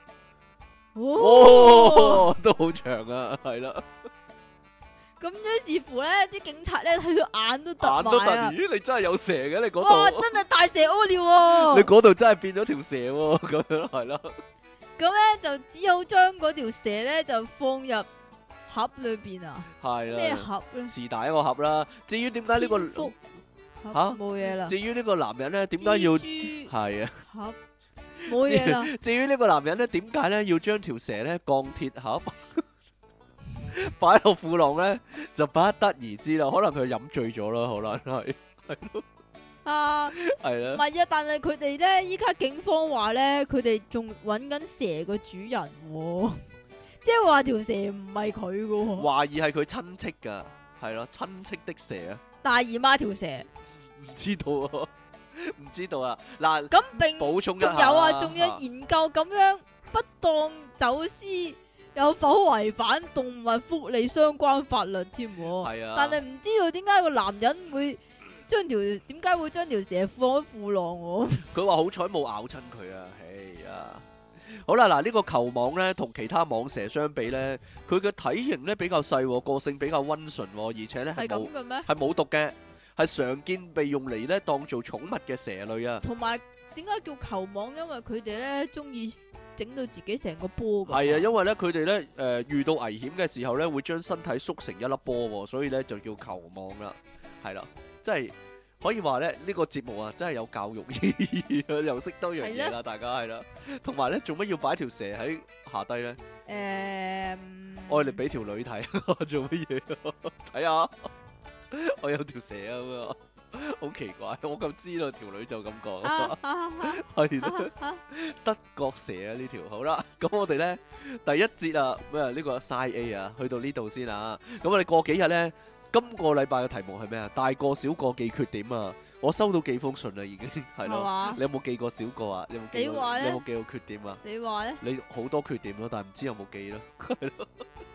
哦， 哦，都好長啊，係啦， 咁於是乎咧，啲警察咧睇到眼都突眼都突， 埋啊！ 咦，你真係有蛇嘅你嗰哇， 度， 真係大蛇屙尿喎！ 你嗰度真係變咗條蛇喎，咁樣係啦。 咁咧就只好將嗰條蛇咧就放入盒裏邊啊！ 係咩啦， 盒咧？ 是但一個盒啦。至於點解呢個蝙蝠盒吓冇嘢啦。 至於呢個男人咧，點解要蜘蛛係啊？ 盒冇嘢啦。 至於呢個男人咧，點解咧要將條蛇咧鋼鐵盒擺落褲浪咧，就不得而知啦。可能佢飲醉咗啦，可能係咯， 啊， 係啦。 唔係啊，但係佢哋咧，依家警方話咧，佢哋仲揾緊蛇個主人喎，即係話條蛇唔係佢噶喎， 懷疑係佢親戚噶，係咯，親戚的蛇啊， 大姨媽條蛇。 唔知道啊，唔知道啊。嗱， 咁並補充一下仲有啊，仲有研究咁樣不當走私有否違反動物福利相關法律添喎。 係啊， 但係唔知道點解個男人會將條蛇放喺褲浪喎？ 佢話好彩冇咬親佢啊，係啊。好啦，嗱，呢個球蟒咧同其他蟒蛇相比咧，佢嘅體型咧比較細，個性比較溫順，而且咧係咁嘅咩？ 係冇毒嘅，係常見被用嚟咧當做寵物嘅蛇類啊。 同埋點解叫球蟒？因為佢哋咧中意整到自己成個波㗎。 係啊，因為咧佢哋咧遇到危險嘅時候咧，會將身體縮成一粒波，所以咧就叫球蟒啦。係啦，即係可以話咧呢個節目啊，真係有教育意義啊，又識多樣嘢啦，大家係啦。同埋咧，做乜要擺條蛇喺下低咧？愛嚟俾條女睇，做乜嘢？睇下，我有條蛇啊咁啊！好奇怪，我咁知道條女就咁講，係啦，德國蛇啊呢條，好啦，咁我哋咧第一節啊咩呢個 Side A 啊，去到呢度先啊，咁我哋過幾日咧，今個禮拜嘅題目係咩啊？大個小個記缺點啊，我收到幾封信啦已經，係咯，你有冇記過小個啊？你有冇記過？你有冇記過缺點啊？ 你話咧？ 你好多缺點咯，但係唔知有冇記咯，係咯。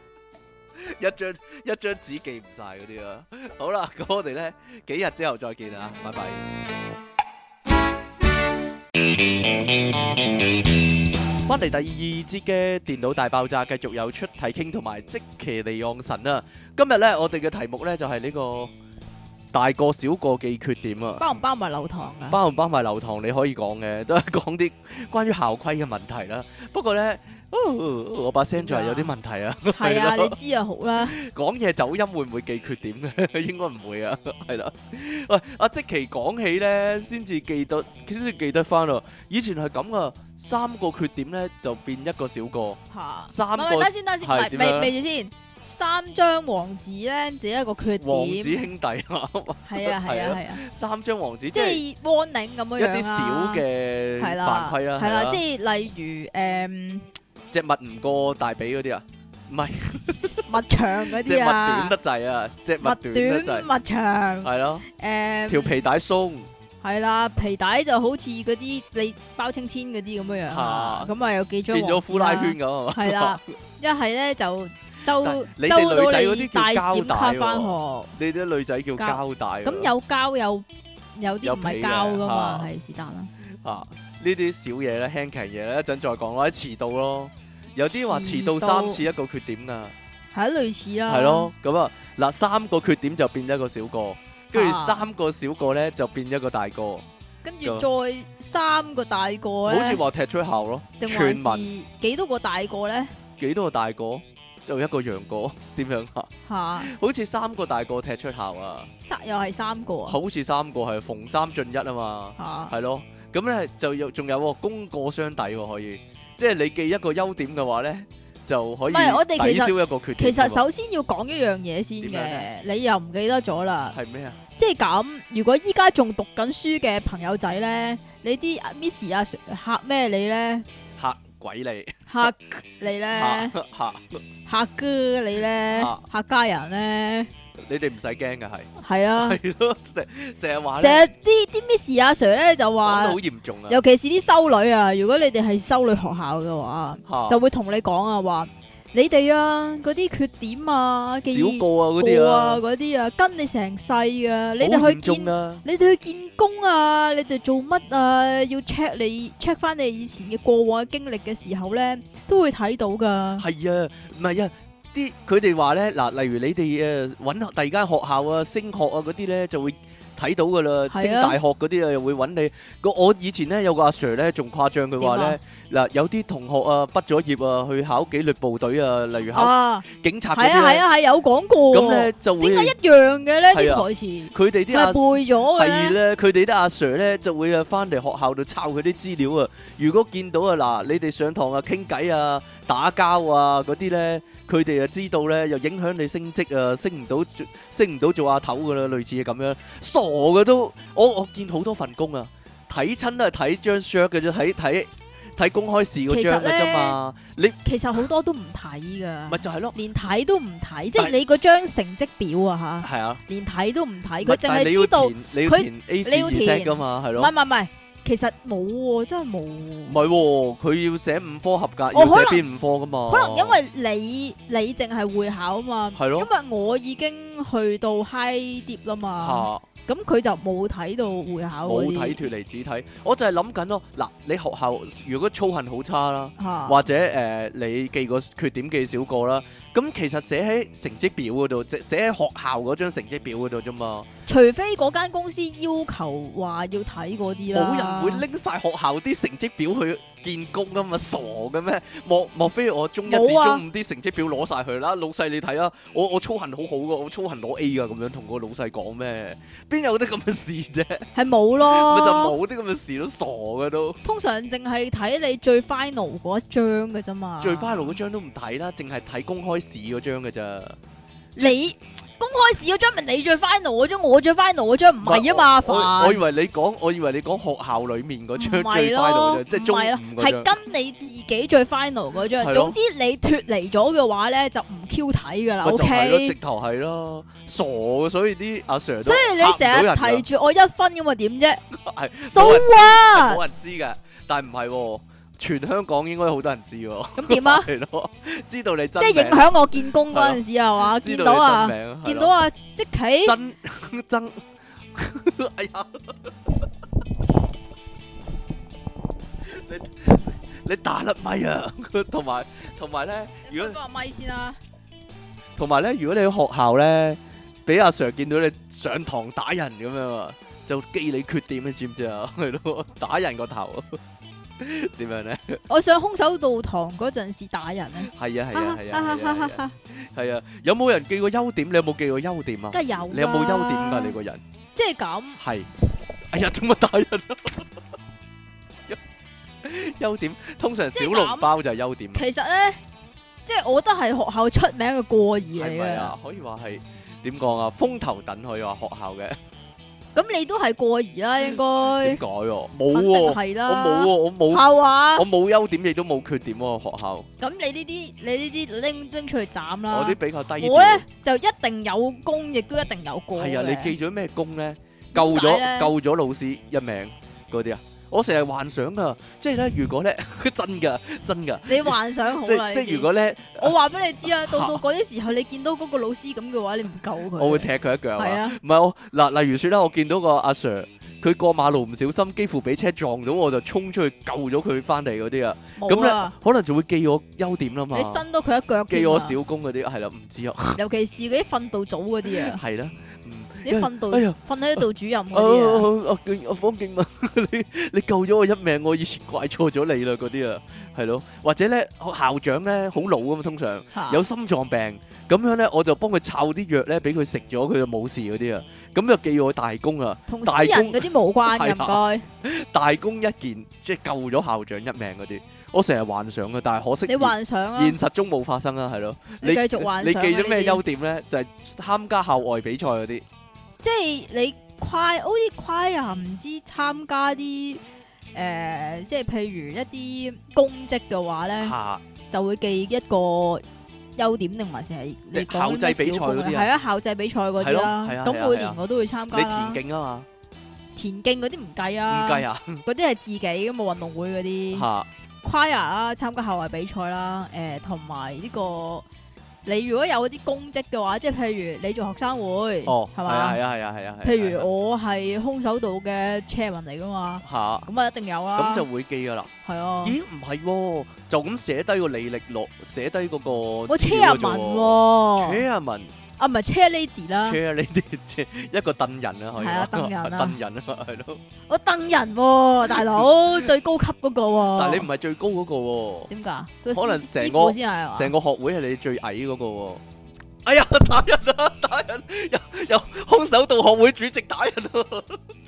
一張紙記唔晒嗰啲啊！好啦，咁我哋咧幾日之後再見啊，拜拜。翻嚟第二節嘅電腦大爆炸，繼續有出體 king同埋積淇離岸神啊！今日咧我哋嘅題目咧就係呢個大個小個記缺點啊， 包唔包埋流堂啊？ 包唔包埋流堂你可以講嘅，都係講啲關於校規嘅問題啦。不過咧，我把聲就係有啲問題啊。 係啊，你知就好啦。 講嘢走音會唔會記缺點嘅？應該唔會啊，係啦。喂，阿積淇講起咧，先至記得翻咯。以前係咁啊，3個缺點咧就變一個小個。 嚇 3個等先， 係點樣未住先。3張黃紙咧，只係一個缺點。 王子兄弟啊， 係啊。 3張黃紙即係 warning 咁樣一啲樣小嘅係啦犯規啦， 係啦，即係例如隻襪唔過大髀嗰啲啊，唔係襪長嗰隻襪啲啊， 短得滯啊，隻襪短得襪滯， 短襪長係咯，條皮帶鬆， 係啦，皮帶就好似嗰啲你包青天嗰啲咁樣樣啊，咁啊有幾張變咗呼拉圈咁咁啊， 係啦，一係咧就周你到哋女仔嗰你啲叫帶膠帶閃卡翻喎， 學， 你啲女仔叫膠帶喎， 咁有膠有啲唔係膠噶嘛， 有係是但啦。 啊呢啲小嘢咧，輕騎嘢咧，一陣再講啦，遲到咯，有啲話遲到遲到 3次一個缺點噶。 係類似啦， 係咯，咁啊嗱，3個缺點就變一個小個，跟住啊 3個小個咧就變一個大個， 跟住再3個大個好似咧， 話踢出校咯， 定全還民是幾多個大個咧？ 幾多個大個就一個楊過，點樣啊？ 嚇， 好似3個大個踢出校啊， 又係3個啊？ 好似3個係逢3進1啊嘛， 嚇， 係咯，咁咧就仲有喎功過相抵喎，可以，即係你記一個優點嘅話咧，就可以唔係我哋其實抵消一個缺點㗎嘛。 其實首先要講一樣嘢先點樣嘅咧， 你又唔記得咗啦。 係咩啊？ 即係咁，如果依家仲讀緊書嘅朋友仔咧，你啲 Miss 啊嚇咩你咧？ 嚇鬼你， 嚇你咧？ 嚇嚇哥你咧？ 嚇嚇家人咧？ 你哋唔使驚嘅係。 係啊， 係咯，成日話成咧， 日啲 Miss 阿 Sir 咧就講得話好，嚴重啊， 尤其是啲修女啊，如果你哋係修女學校嘅話， 嚇就會同你講啊話，你哋啊嗰啲缺點啊嘅小個啊嗰啲啊， 嗰啲啊跟你成世噶，你哋去好嚴重見。 啊， 你哋去見工啊，你哋做乜啊？要 check 翻你以前嘅過往嘅經歷嘅時候咧，都會睇到噶。 係啊，唔係啊，佢哋話咧嗱，例如你哋揾第二間學校啊、升學啊嗰啲咧，就會睇到噶啦， 係啊升大學嗰啲啊又會揾你。我以前咧有個阿 Sir 咧仲誇張，佢話咧嗱，有啲同學啊畢咗業啊去考紀律部隊啊，例如考啊， 警察嗰係啊啲咧， 係啊係有講過。 咁咧就會點解一樣嘅咧？啲係啊台詞佢哋啲阿係背咗嘅咧。 係咧，佢哋啲阿 Sir 咧就會啊翻嚟學校度抄佢啲資料啊。如果見到啊嗱，你哋上堂啊傾偈啊、打交啊嗰啲咧，佢哋啊知道咧，又影響你升職啊，升唔到做阿頭噶啦，類似係咁樣。傻嘅都，我見好多份工啊，睇親都係睇張 shirt 嘅啫，睇公開試嗰張嘅啫嘛。你其實好多都唔睇噶， 咪就係咯， 連睇都唔睇，即但係係你嗰張成績表啊吓， 係啊， 連睇都唔睇， 咪佢淨但係你要係知道。 填你要佢填 A 你要至 Z 填噶嘛，係唔咯。 係，其實冇喎，真係冇喎。 唔係喎，佢要寫5科合格， 我可能要寫邊5科噶嘛？ 可能因為你淨係會考啊嘛， 係咯因為我已經去到 high dip 啦嘛， 嚇咁佢就冇睇到會考嗰啲冇睇脱離只睇，我就係諗緊咯。嗱，你學校如果操行好差啦， 嚇或者你記個缺點記少個啦，咁其實寫喺成績表嗰度，即寫喺學校嗰張成績表嗰度啫嘛。 除非嗰間公司要求話要睇嗰啲啦， 冇人會拎晒學校啲成績表去見工噶嘛，傻嘅咩？莫非我中一至中冇啊五啲成績表攞晒佢啦？老細你睇啊，我操行好好噶，我操行攞 A 噶，咁樣同個老細講咩？邊有啲咁嘅事啫？ 係冇咪就咯， 冇啲咁嘅事都傻嘅都。 通常淨係睇你最 final 嗰一張嘅啫嘛， 最 final 嗰張都唔睇啦，淨係睇公開試嗰張嘅咋。 你公開試嗰張咪你最 final 嗰張，我最 final 嗰張唔係啊嘛， 我以煩。 為你講學校裡面嗰張唔係最 final 咯， 啫，即係中唔係咯五嗰張。 係跟你自己最 final 嗰張。 係咯總之你脱離咗嘅話咧，就唔 Q 睇噶啦咪就係咯，直 ，OK。 頭係咯，傻嘅，所以啲阿 Sir 都所以你成日嚇唔到人㗎提住我1分咁啊，點啫係 ？So 冇人 what？ 冇人知嘅，但係唔係喎，全香港應該好多人知喎。 咁點啊？ 係咯，知道你真即係影名， 響我見工嗰陣時係嘛？ 知道見到啊你真，名， 見到啊，即企真，哎呀！你打甩咪啊！同埋咧，如果個咪先啦。 同埋咧，如果你喺學校咧俾阿 Sir 見到你上堂打人咁樣啊，就記你缺點，你知唔知啊？係咯，打人個頭點樣咧？ 我上空手道堂嗰陣時打人咧， 係啊，係啊，有冇人記過優點？你有冇記過優點啊？ 梗係有啦。 你有冇優點㗎？你個人即係咁。 係，哎呀，做乜打人啊？優點通常小籠包就係優點。 其實咧，即係我覺得係學校出名嘅過兒嚟係咪嘅。 啊？可以話係點講啊？風頭躉可以話學校嘅。 咁你都係過兒啦，應該。 點解啊？冇肯定喎， 係啦。 我冇喎，我冇。 係話。 我冇優點，亦都冇缺點喎。學校。 咁你呢啲拎出去斬啦。 我啲比較低調。 我咧就一定有功，亦都一定有過嘅。 係啊，你記咗咩功咧？救咗老師一命嗰啲啊！我成日幻想噶，即係咧，如果咧真噶， 你幻想好啦。 即係如果咧， 我話俾你知啊，到嗰啲時候，你見到嗰個老師咁嘅話，你唔救佢， 我會踢佢一腳。 係啊， 唔係我嗱，例如說啦，我見到個阿 Sir，佢過馬路唔小心，幾乎俾車撞到，我就衝出去救咗佢翻嚟嗰啲啊。咁咧，可能就會記我優點啦嘛。 你伸到佢一腳， 記我小功嗰啲係啦，唔知啊。 尤其是嗰啲訓導組嗰啲啊。 係啦。 啲訓導， 哎呀， 訓喺度主任嗰啲啊！ 我方敬文，你救咗我一命，我以前怪錯咗你啦，嗰啲啊，係咯，或者咧校長咧好老啊嘛，通常有心臟病，咁樣咧我就幫佢摷啲藥咧，俾佢食咗，佢就冇事嗰啲啊，咁就記我大功啊， 同私人嗰啲無關嘅，唔該。 大功一件，即係救咗校長一命嗰啲，我成日幻想嘅，但係可惜你幻想啊， 現實中冇發生啊，係咯。 你繼續幻想。 你記咗咩優點咧？就係參加校外比賽嗰啲。 即係你好似choir唔知參加啲即係譬如一啲公職嘅話咧，就會記一個優點定還是係你講咩小功咧？係啊，校際比賽嗰啲啦。咁每年我都會參加啦。 你田徑啊嘛？ 田徑嗰啲唔計啊。 唔計啊？ 嗰啲係自己㗎嘛，運動會嗰啲。choir 啦，參加校外比賽啦，同埋呢個。你如果有啲公職嘅話，即係譬如你做學生會，係嘛？係啊。譬如我係空手道嘅 chairman 嚟噶嘛，咁啊一定有啦。 咁就會記噶啦。 係啊。咦？ 唔係，就咁寫低個履歷落，寫低嗰個。 我 chairman，chairman 啊，唔係 chair lady 啦。 chair lady， 一個凳人啊，可以。係啊，凳人啊。 凳人啊，係咯。 我凳人喎，大佬最高級嗰個喎。 但係你唔係最高嗰個喎。點解？ 可能成個學會係你最矮嗰個喎。哎呀，打人啊！打人！有空手道學會主席打人啊！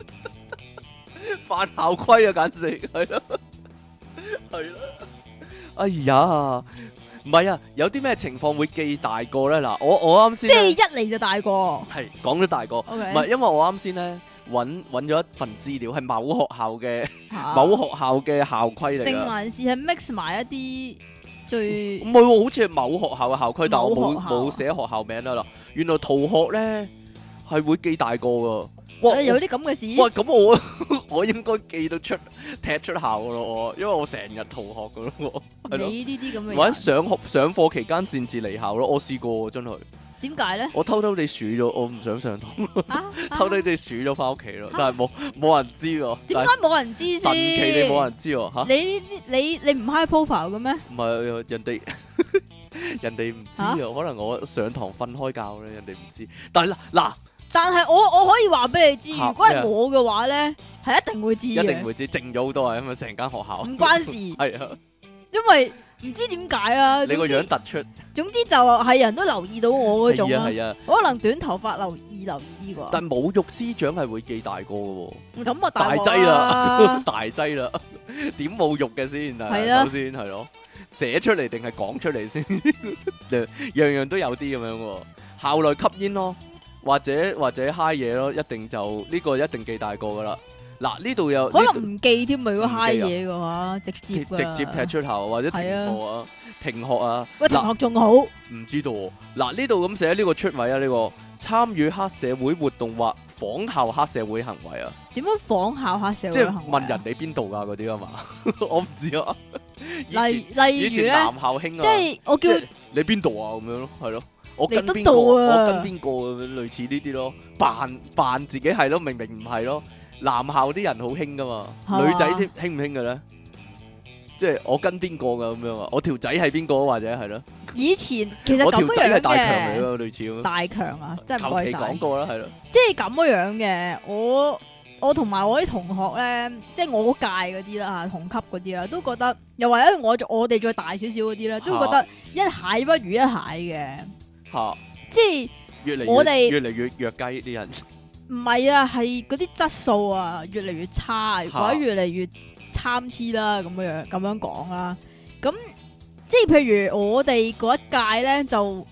犯校規啊，簡直係咯，係咯。哎呀！唔係啊，有啲咩情況會記大個咧？嗱，我啱先即係一嚟就大個， 係講咗大個，唔係因為我啱先咧揾咗一份資料，係某學校嘅校規嚟， 定還是係 mix 埋一啲最唔係喎，好似係某學校嘅校規，但我冇寫學校名啦。原來逃學咧係會記大個噶。 哇！有啲咁嘅事？ 哇！咁我應該記得出踢出校噶咯，因為我成日逃學噶咯。 你呢啲咁嘅， 或者上課期間擅自離校咯，我試過真係。 點解咧？ 我偷偷地數咗，我唔想上堂，偷偷地數咗翻屋企咯，但係冇人知喎。 點解冇人知先？ 神奇你冇人知喎嚇？ 你唔 high profile 嘅咩？ 唔係人哋唔知啊，可能我上堂瞓開覺咧，人哋唔知。但係嗱。 但係我可以話俾你知，如果係我嘅話咧，係一定會知嘅。 一定會知，靜咗好多啊，因為成間學校唔關事。係啊，因為唔知點解啊。 你個樣突出。總之就係人都留意到我嗰種啦。 係啊。 可能短頭髮留意啲啩。 但侮辱師長係會記大個嘅喎。 咁啊大劑啦，大劑啦，點侮辱嘅先啊？首先係咯，寫出嚟定係講出嚟先？樣樣都有啲咁樣喎。校內吸煙咯。或者嗨嘢咯，一定就呢個一定記大個噶啦。嗱，呢度有可能唔記添，如果嗨嘢嘅話，直接踢出校或者停課啊，停學啊。 喂，停學仲好？ 唔知道。嗱，呢度咁寫呢個出位啊，呢個參與黑社會活動或仿效黑社會行為啊。 點樣仿效黑社會行為？ 即係問人哋邊度噶嗰啲啊嘛？我唔知啊。 例如咧， 以前男校興啊， 即係我叫你邊度啊咁樣咯，係咯。我跟邊個類似呢啲咯，扮自己係咯，明明唔係咯。男校啲人好興噶嘛，女仔先興唔興嘅咧？ 即係我跟邊個噶咁樣啊？我條仔係邊個或者係咯？ 以前其實我條咁樣仔係大強嚟嘅， 咯，類似咁。 大強啊，真係唔求其該晒。 講過啦，係咯。 即係咁樣嘅，我同埋我啲同學咧，即係我嗰屆嗰啲啦嚇，同級嗰啲啦，都覺得又或者我哋再大少少嗰啲咧，都覺得一蟹不如一蟹嘅。 嚇！ 即係越嚟我哋越嚟越弱雞啲人。 唔係啊，係嗰啲質素啊，越嚟越差，或者越嚟越參差啦，咁樣講啦。咁即係譬如我哋嗰一屆咧，就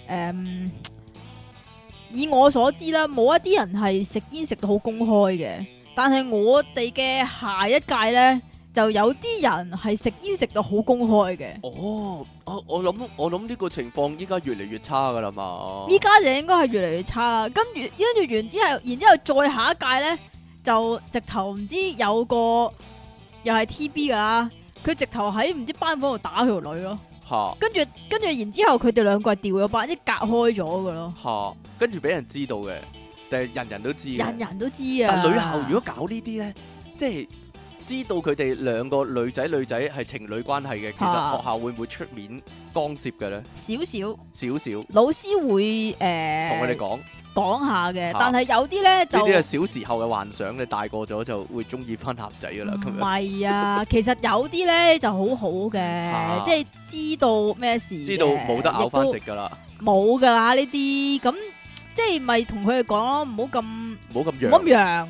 以我所知啦，冇一啲人係食煙食到好公開嘅，但係我哋嘅下一屆咧，就有啲人係食煙食到好公開嘅。 哦，我諗呢個情況依家越嚟越差噶啦嘛。 依家就應該係越嚟越差啦。跟住完之後，然之後再下一屆咧，就直頭唔知有個又係 TB 噶啦，佢直頭喺唔知班房度打佢條女咯。 嚇！ 跟住然之後佢哋兩個係調咗班，即係隔開咗噶咯。 嚇！跟住俾人知道嘅，定係人人都知嘅？ 人人都知啊。 但女校如果搞呢啲咧，即係知道佢哋兩個女仔係情侶關係嘅，其實學校會唔會出面干涉嘅咧？ 少少， 老師會同佢哋講下嘅，但係有啲咧就呢啲係小時候嘅幻想，你大個咗就會中意翻男仔噶啦。咁唔樣係啊，其實有啲咧就好好嘅，即係知道咩事， 知道冇得拗翻直噶啦， 冇噶啦呢啲，咁即係咪同佢哋講咯，唔好咁揚，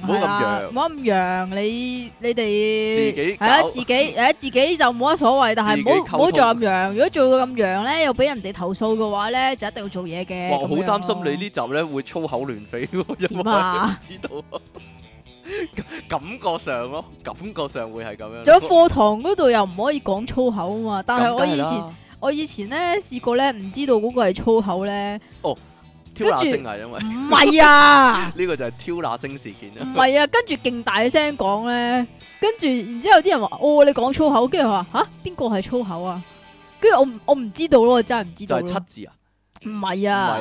你哋自己係啊，自己就冇乜所謂，但係唔好做咁揚。如果做到咁揚咧，又俾人哋投訴嘅話咧，就一定要做嘢嘅。 哇，好擔心你呢集咧會粗口亂飛，因為知道感覺上會係咁樣。 仲有課堂嗰度又唔可以講粗口啊嘛，但係我以前咧試過咧，唔知道嗰個係粗口咧。 哦。挑那星啊，因為唔係啊， 呢個就係挑那星事件啊。 唔係啊，跟住勁大聲講咧，跟住然之後啲人話：哦，你講粗口，跟住話吓邊個係粗口啊？跟住我唔知道咯，我真係唔知道。 就係7字啊？ 唔係啊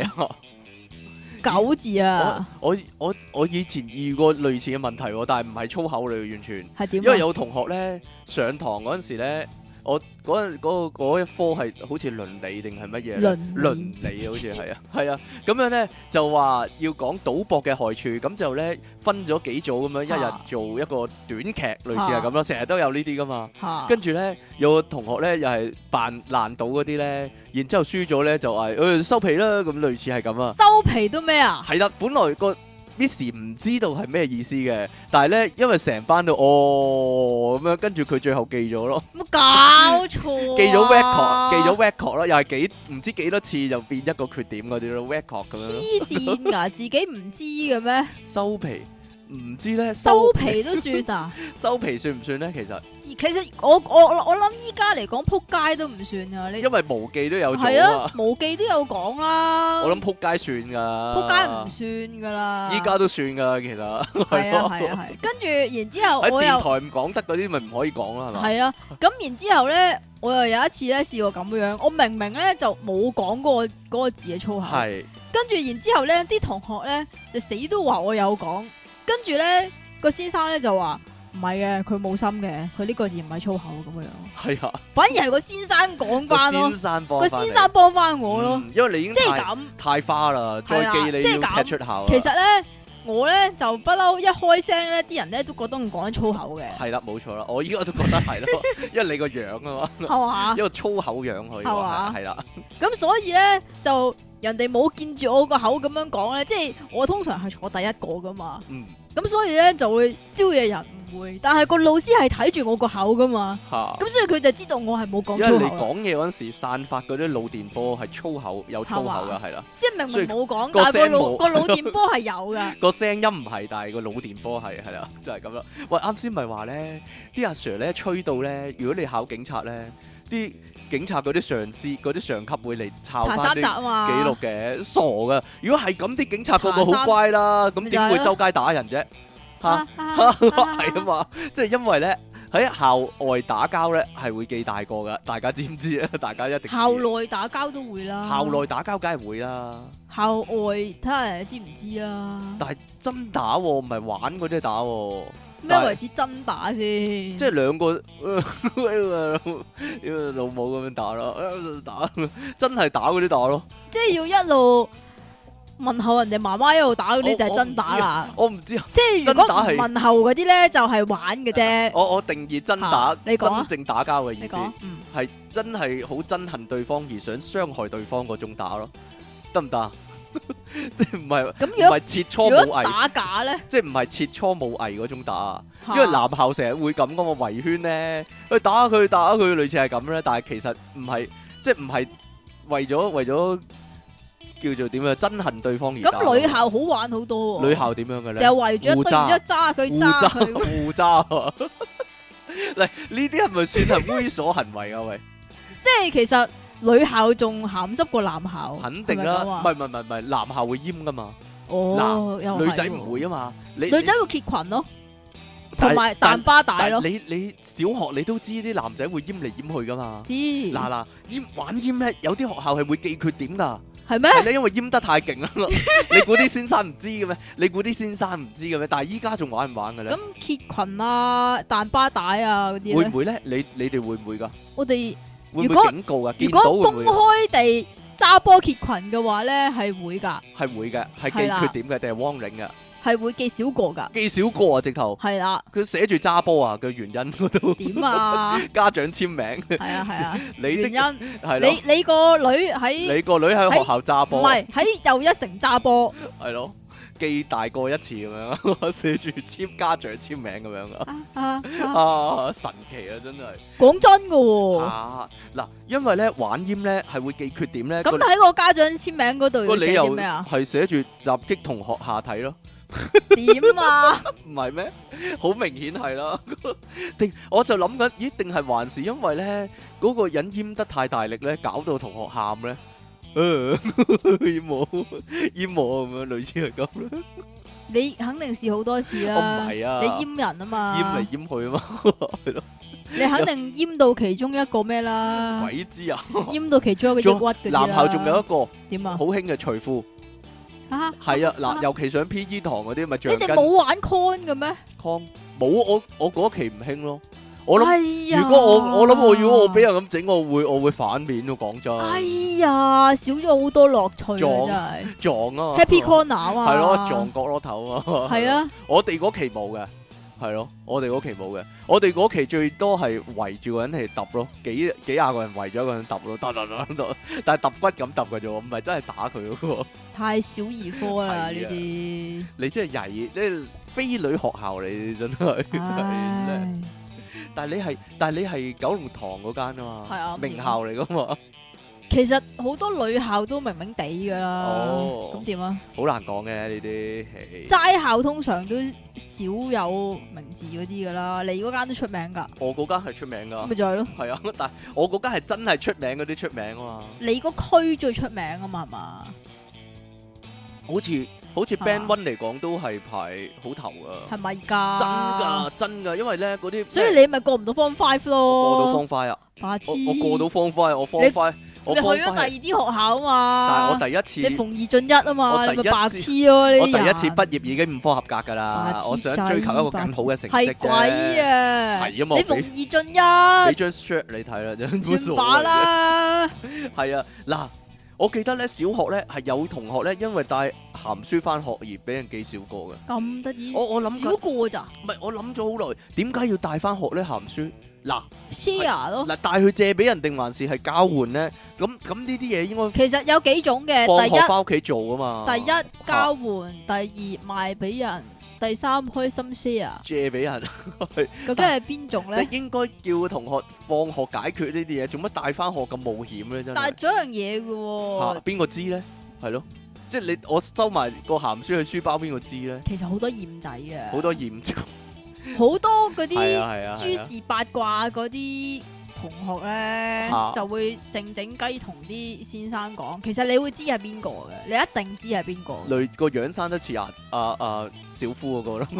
，9字啊。 我以前遇過類似嘅問題，但係唔係粗口嚟，完全係點？ 因為有同學咧上堂嗰陣時咧。我嗰一科係好似倫理定係乜嘢？倫理好似係啊，咁樣咧就話要講賭博嘅害處，咁就咧分咗幾組咁樣，一日做一個短劇，類似係咁咯，成日都有呢啲噶嘛。跟住咧有個同學咧又係扮爛賭嗰啲咧，然之後輸咗咧就話收皮啦，咁類似係咁啊。 收皮都咩啊？ 係啦，本來個Miss 唔知道係咩意思嘅，但係咧因為成班都咁樣，跟住佢最後記咗咯。 冇搞錯， 記咗 record 咯，又係唔知幾多次就變一個缺點嗰啲咯 record 咁樣。 黐線噶，自己唔知嘅咩？ 收皮唔知咧， 收皮都算啊？ 收皮算唔算咧？ 其實我諗依家嚟講，撲街都唔算啊！ 因為無記都有做係啊，無記都有講啦。 我諗撲街算噶， 撲街唔算噶啦。 依家都算噶，其實係啊。跟住然之後我又喺電台唔講得嗰啲，咪唔可以講啦，係嘛？ 係啊。咁然之後咧，我又有一次咧試過咁樣，我明明咧就冇講嗰個字嘅粗口，係。跟住然之後咧，啲同學咧就死都話我有講，跟住咧個先生咧就話。唔係嘅，佢冇心嘅，佢呢個字唔係粗口咁樣。係啊，反而係個先生講翻咯，個先生幫翻我咯， 因為你已經即係咁太花啦，再記你要踢出校。 其實咧，我咧就不嬲一開聲咧，啲人咧都覺得我講緊粗口嘅。係啦，冇錯啦，我依家都覺得係咯，因為你個樣啊嘛，係嘛，一個粗口樣可以話係啦。咁所以咧就人哋冇見住我個口咁樣講咧，即係我通常係坐第一個噶嘛。咁所以咧就會招惹人誤會，但係個老師係睇住我個口噶嘛，咁所以佢就知道我係冇講粗口。 因為你講嘢嗰陣時散發嗰啲腦電波係粗口，有粗口噶，係啦。 即係明明冇講，但係個腦電波係有噶。 個聲音唔係，但係個腦電波係啦，就係咁啦。喂，啱先咪話咧，啲阿 Sir 咧吹到咧，如果你考警察咧，啲警察嗰啲上司、嗰啲上級會嚟抄翻啲記錄嘅，傻噶！如果係咁，啲警察個個好乖啦，咁點會周街打人啫？嚇，係啊嘛，即係因為咧喺校外打交咧係會記大過噶，大家知唔知啊？大家一定校內打交都會啦， 校內打交梗係會啦， 校外睇下人知唔知啊？ 但係真打喎，唔係玩嗰啲打喎。 咩為之真打先？ 即係兩個老母咁樣打咯，打真係打嗰啲打咯。 即係要一路問候人哋媽媽一路打嗰啲就係真打啦。 我唔知啊。 即係如果唔真打係問候嗰啲咧，就係玩嘅啫。 我定義真打， 你講啊真正打交嘅意思你講， 係真係好憎恨對方而想傷害對方嗰種打咯，得唔得啊？即係唔係咁唔係切磋如果武藝， 打假咧， 即係唔係切磋武藝嗰種打啊？ 嚇因為男校成日會咁噶嘛，圍圈咧，去打佢，類似係咁咧。但係其實唔係，即係唔係為咗叫做點樣憎恨對方而打。 咁女校好玩好多喎。 女校點樣嘅咧？ 成日圍住一堆，然之後揸佢揸佢。 互揸啊！嚟呢啲係咪算係猥瑣行為啊？喂， 即係其實女校仲鹹濕過男校， 肯定啦，唔係，男校會閹噶嘛， 哦，又係女仔唔喎會啊嘛。 女仔會揭裙咯， 但同埋彈巴帶咯。 你小學你都知啲男仔會閹嚟閹去噶嘛？ 知嗱，玩閹咧，有啲學校係會記缺點噶。 係咩？ 係咧，因為閹得太勁啦。你估啲先生唔知嘅咩？但係依家仲玩唔玩嘅咧？ 咁揭裙啊、彈巴帶啊嗰啲咧， 會唔會咧？你哋會唔會噶？ 我哋會唔如果會警告噶？ 如見到果公會唔會？ 開地揸波揭裙嘅話咧，係會㗎， 係會嘅，係係啦記缺點嘅定係 warning 嘅？ 係會記少過㗎。 記少個啊，直頭係啦， 佢寫住揸波啊嘅原因嗰度， 點啊？ 家長簽名。 係啊， 你原因的係咯， 你個女喺你個女喺學校揸唔波， 係喺又一城揸波係咯，記大過一次咁樣，寫住簽家長簽名咁樣啊！啊，神奇啊，真係講真㗎喎。 啊！嗱，因為咧玩閹咧係會記缺點咧， 咁喺個家長簽名嗰度要寫個理由啲咩啊？ 係寫住襲擊同學下體咯。 點啊？ 唔係咩？好明顯係啦。我就諗緊，咦？定係還是因為咧嗰個人閹得太大力咧，搞到同學喊咧？閹我咁樣，類似係咁啦。 你肯定試好多次啦。 我唔係啊， 你閹人啊嘛。 閹嚟閹去啊嘛，係咯。 你肯定閹到其中一個咩啦？ 鬼知啊！ 閹到其中一個抑鬱嗰啲啦。 男校仲有一個點啊好？興嘅除褲， 啊， 係啊嗱，尤其上 P.E. 堂嗰啲咪你橡筋哋冇玩 con 嘅咩？ con 冇，我嗰期唔興咯。我諗。 哎呀， 如果我諗如果我俾人咁整，我會反面咯，講真。 哎呀，少咗好多樂趣撞啊！ 撞啊嘛真係 Happy Corner 啊嘛。 係咯，撞角落頭啊嘛。 係啊， 我哋嗰期冇嘅，係咯，我哋嗰期冇嘅，我哋嗰期最多係圍住個人嚟揼咯，幾廿個人圍咗一個人揼咯，揼，但係揼骨咁揼嘅啫喎，唔係真係打佢嗰個。 太小兒科啦係啊呢啲。 你真係曳，你係非女學校嚟，真係。 唉， 但係你係九龍塘嗰間啊嘛， 係啊名校嚟噶嘛。 其實好多女校都明明地噶啦。 哦咁點啊？ 好難講嘅呢啲， 齋校通常都少有名字嗰啲噶啦，你嗰間都出名噶， 我嗰間係出名噶咪，就係咯。 係啊，但係我嗰間係真係出名嗰啲出名啊嘛， 你個區最出名啊嘛，係嘛？ 好似 Band One 嚟講都係排好頭啊， 係咪㗎？ 真㗎，因為咧嗰啲， 所以你咪過唔到 Form 5咯。 過到方塊啊， 白痴！ 我過到方塊，我方塊，我你去方塊， 咗第二啲學校啊嘛？ 但係我第一次， 你逢二進一啊嘛？ 我第一次你咪白痴咯！呢我第啲人一次畢業已經5科合格㗎啦白，痴我想追求一個更好嘅成績係鬼啫， 啊！ 係啊嘛， 你逢二進俾一， 張 shirt 你睇啦，真係算把啦。 係啊，嗱，我記得咧小學咧係有同學咧因為帶鹹書翻學而俾人記小過嘅。 咁得意？ 我諗緊少過咋唔係，我諗咗好耐，點解要帶翻學咧鹹書？嗱 ？share 咯。 嗱，帶去借俾人定還是係交換咧？咁呢啲嘢應該其實有幾種嘅， 放第學翻屋企做啊嘛。 一交換，第二賣俾人，第三開心 share。 借俾人， 究竟係邊種咧？ 你應該叫同學放學解決呢啲嘢，做乜帶翻學咁冒險咧？真係但係仲有一樣嘢嘅喎， 邊個知咧？係咯，即係我收埋個鹹書去書包，邊個知咧？ 其實好多厭仔嘅， 好多驗證， 好多嗰係啊係啊， 啲諸事八卦嗰啲同學咧，就會靜靜雞同啲先生講，其實你會知係邊個嘅，你一定知係邊個。 類個樣生得似小夫嗰個咯，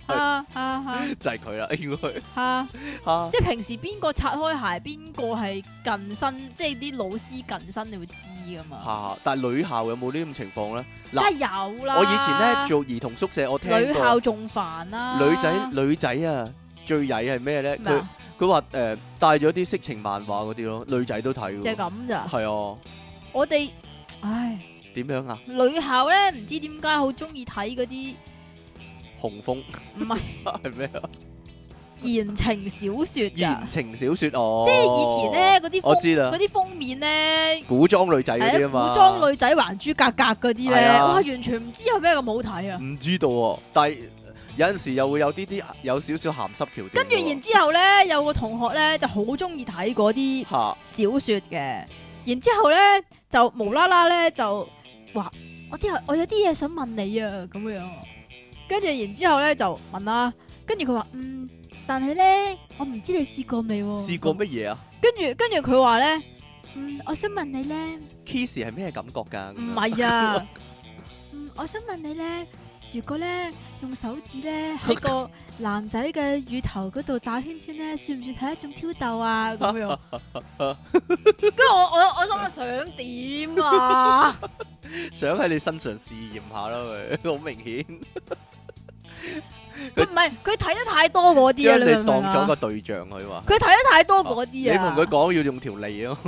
就係佢啦，應該即係平時邊個拆開鞋，邊個係近身，即係啲老師近身，你會知噶嘛？ 但係女校有冇呢種情況咧？ 梗係有啦。 我以前咧做兒童宿舍，我聽過女校仲煩啦。 女仔啊，最曳係咩咧？ 咩啊？ 佢話帶咗啲色情漫畫嗰啲咯，女仔都睇。 就係咁咋？ 係啊。 我哋點樣啊？ 女校咧唔知點解好中意睇嗰啲紅楓， 唔係係咩啊？ 言情小說㗎。 言情小說哦， 即係以前咧嗰啲我知啦， 嗰啲封面咧， 古裝女仔嗰啲啊嘛， 古裝女仔還珠格格嗰啲咧， 啊哇，完全唔知有咩咁好睇啊！ 唔知道喎，但係有陣時又會有啲有少少鹹濕橋段。 跟住然之後咧，有個同學咧就好中意睇嗰啲小說嘅，然之後咧就無啦啦咧就話我有啲嘢想問你啊咁樣，跟住然之後咧就問啦，跟住佢話但係咧我唔知你試過未喎？ 試過乜嘢啊？ 跟住佢話咧我想問你咧 kiss 係咩感覺㗎？ 唔係啊，我想問你咧，如果咧用手指咧喺個男仔嘅乳頭嗰度打圈圈咧，算唔算係一種挑逗啊？咁樣，跟住我心諗想點啊？ 想喺你身上試驗下啦，佢好明顯。 佢唔係佢睇得太多嗰啲啊！ 將你當咗個啊？ 對象，佢話佢睇得太多嗰啲啊！ 你同佢講要用條脷咯。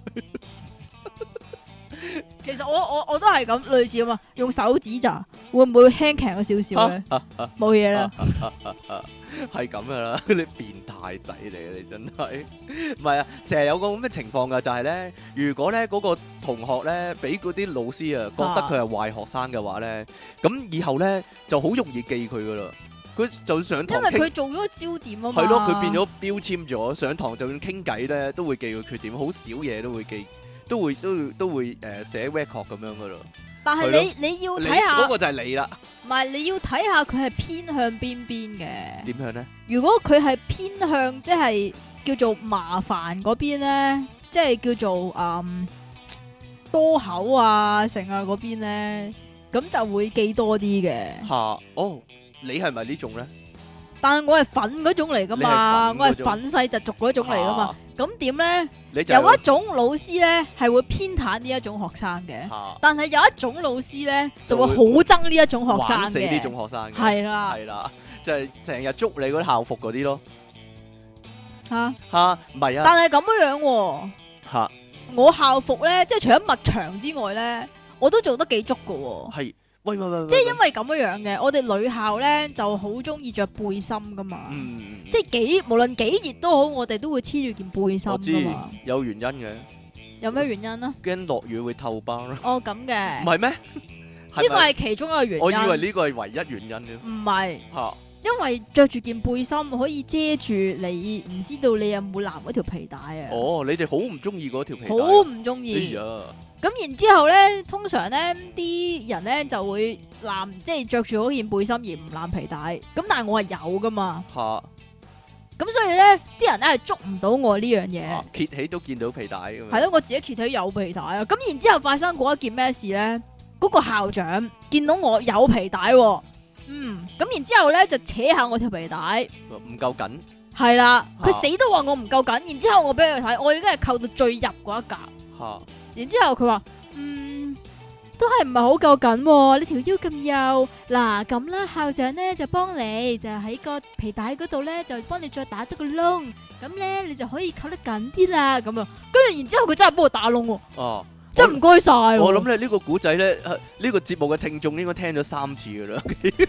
其實我都係咁類似咁啊，用手指咋，會唔會輕強咗少少咧？冇嘢啦， 係咁噶啦，你變態仔嚟嘅，你真係唔係啊！成日有個咁嘅情況噶，就係咧，如果咧嗰個同學咧俾嗰啲老師啊覺得佢係壞學生嘅話咧，咁以後咧就好容易記佢噶啦。佢就上堂， 因為佢做咗個焦點啊嘛。 係咯，佢變咗標籤咗，上堂就算傾偈咧，都會記佢缺點，好少嘢都會記。都會寫 record 咁樣噶咯， 但係你要睇下嗰個就係你啦， 唔係你要睇下佢係偏向邊邊嘅。 點樣咧？ 如果佢係偏向即係叫做麻煩嗰邊咧，即係叫做多口啊成啊嗰邊咧，咁就會記多啲嘅。 吓哦，你係咪呢種咧？ 但係我係粉嗰種嚟噶嘛，我係粉細就族嗰種嚟噶嘛。咁點咧？有一種老師咧係會偏袒呢一種學生嘅，但係有一種老師咧就會好憎呢一種學生嘅。玩死呢種學生嘅。 係啦， 係啦，就係成日捉你嗰啲校服嗰啲咯。 吓唔係啊？ 但係咁樣喎。 吓， 我校服咧，即係除咗襪長之外咧，我都做得幾足噶。 係。喂， 即係因為咁樣嘅，我哋女校咧就好中意着背心噶嘛，即係無論幾熱都好，我哋都會黐住件背心噶嘛。 有原因嘅。有咩原因啊？ 驚落雨會透包咯。 哦，咁嘅。 唔係咩？ 呢個係其中一個原因。 我以為呢個係唯一原因嘅。 唔係。因為着住件背心可以遮住你，唔知道你有冇攬嗰條皮帶啊。 哦，你哋好唔中意嗰條皮帶。 好唔中意。咁然之後咧，通常咧啲人咧就會攬，即係着住嗰件背心而唔攬皮帶。咁但係我係有噶嘛。咁所以咧，啲人咧係捉唔到我呢樣嘢。 揭起都見到皮帶咁樣。 係咯，我自己揭起有皮帶啊。咁然之後發生過一件咩事咧？嗰個校長見到我有皮帶，咁然之後咧就扯下我條皮帶， 唔夠緊。係啦，佢死都話我唔夠緊。然之後我俾佢睇，我已經係扣到最入嗰一格。然之後佢話，都係唔係好夠緊，你條腰咁幼，嗱咁啦，校長咧就幫你，就喺個皮帶嗰度咧就幫你再打多個窿，咁咧你就可以扣得緊啲啦，咁啊，跟住然之後佢真係幫我打窿，真係唔該晒。 我諗咧呢個古仔咧，呢個節目嘅聽眾應該聽咗3次噶啦，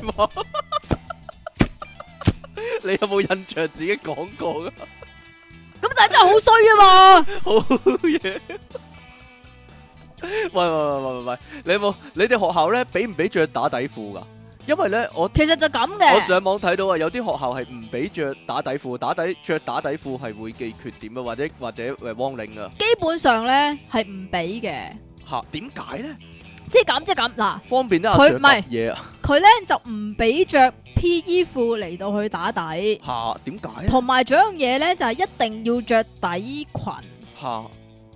你有冇印象自己講過噶？ 咁但係真係好衰啊嘛， 好嘢。喂，你哋學校咧俾唔俾着打底褲噶？因為咧我其實就咁嘅。 我上網睇到啊，有啲學校係唔俾着打底褲，着打底褲係會記缺點啊，或者汪領啊。 基本上咧係唔俾嘅。 吓，點解咧？ 即係咁嗱， 方便阿 Sir 執嘢啊。 佢咧就唔俾着 PE 褲嚟到去打底。 吓，點解？ 同埋仲有樣嘢咧，就係一定要着底裙。 吓。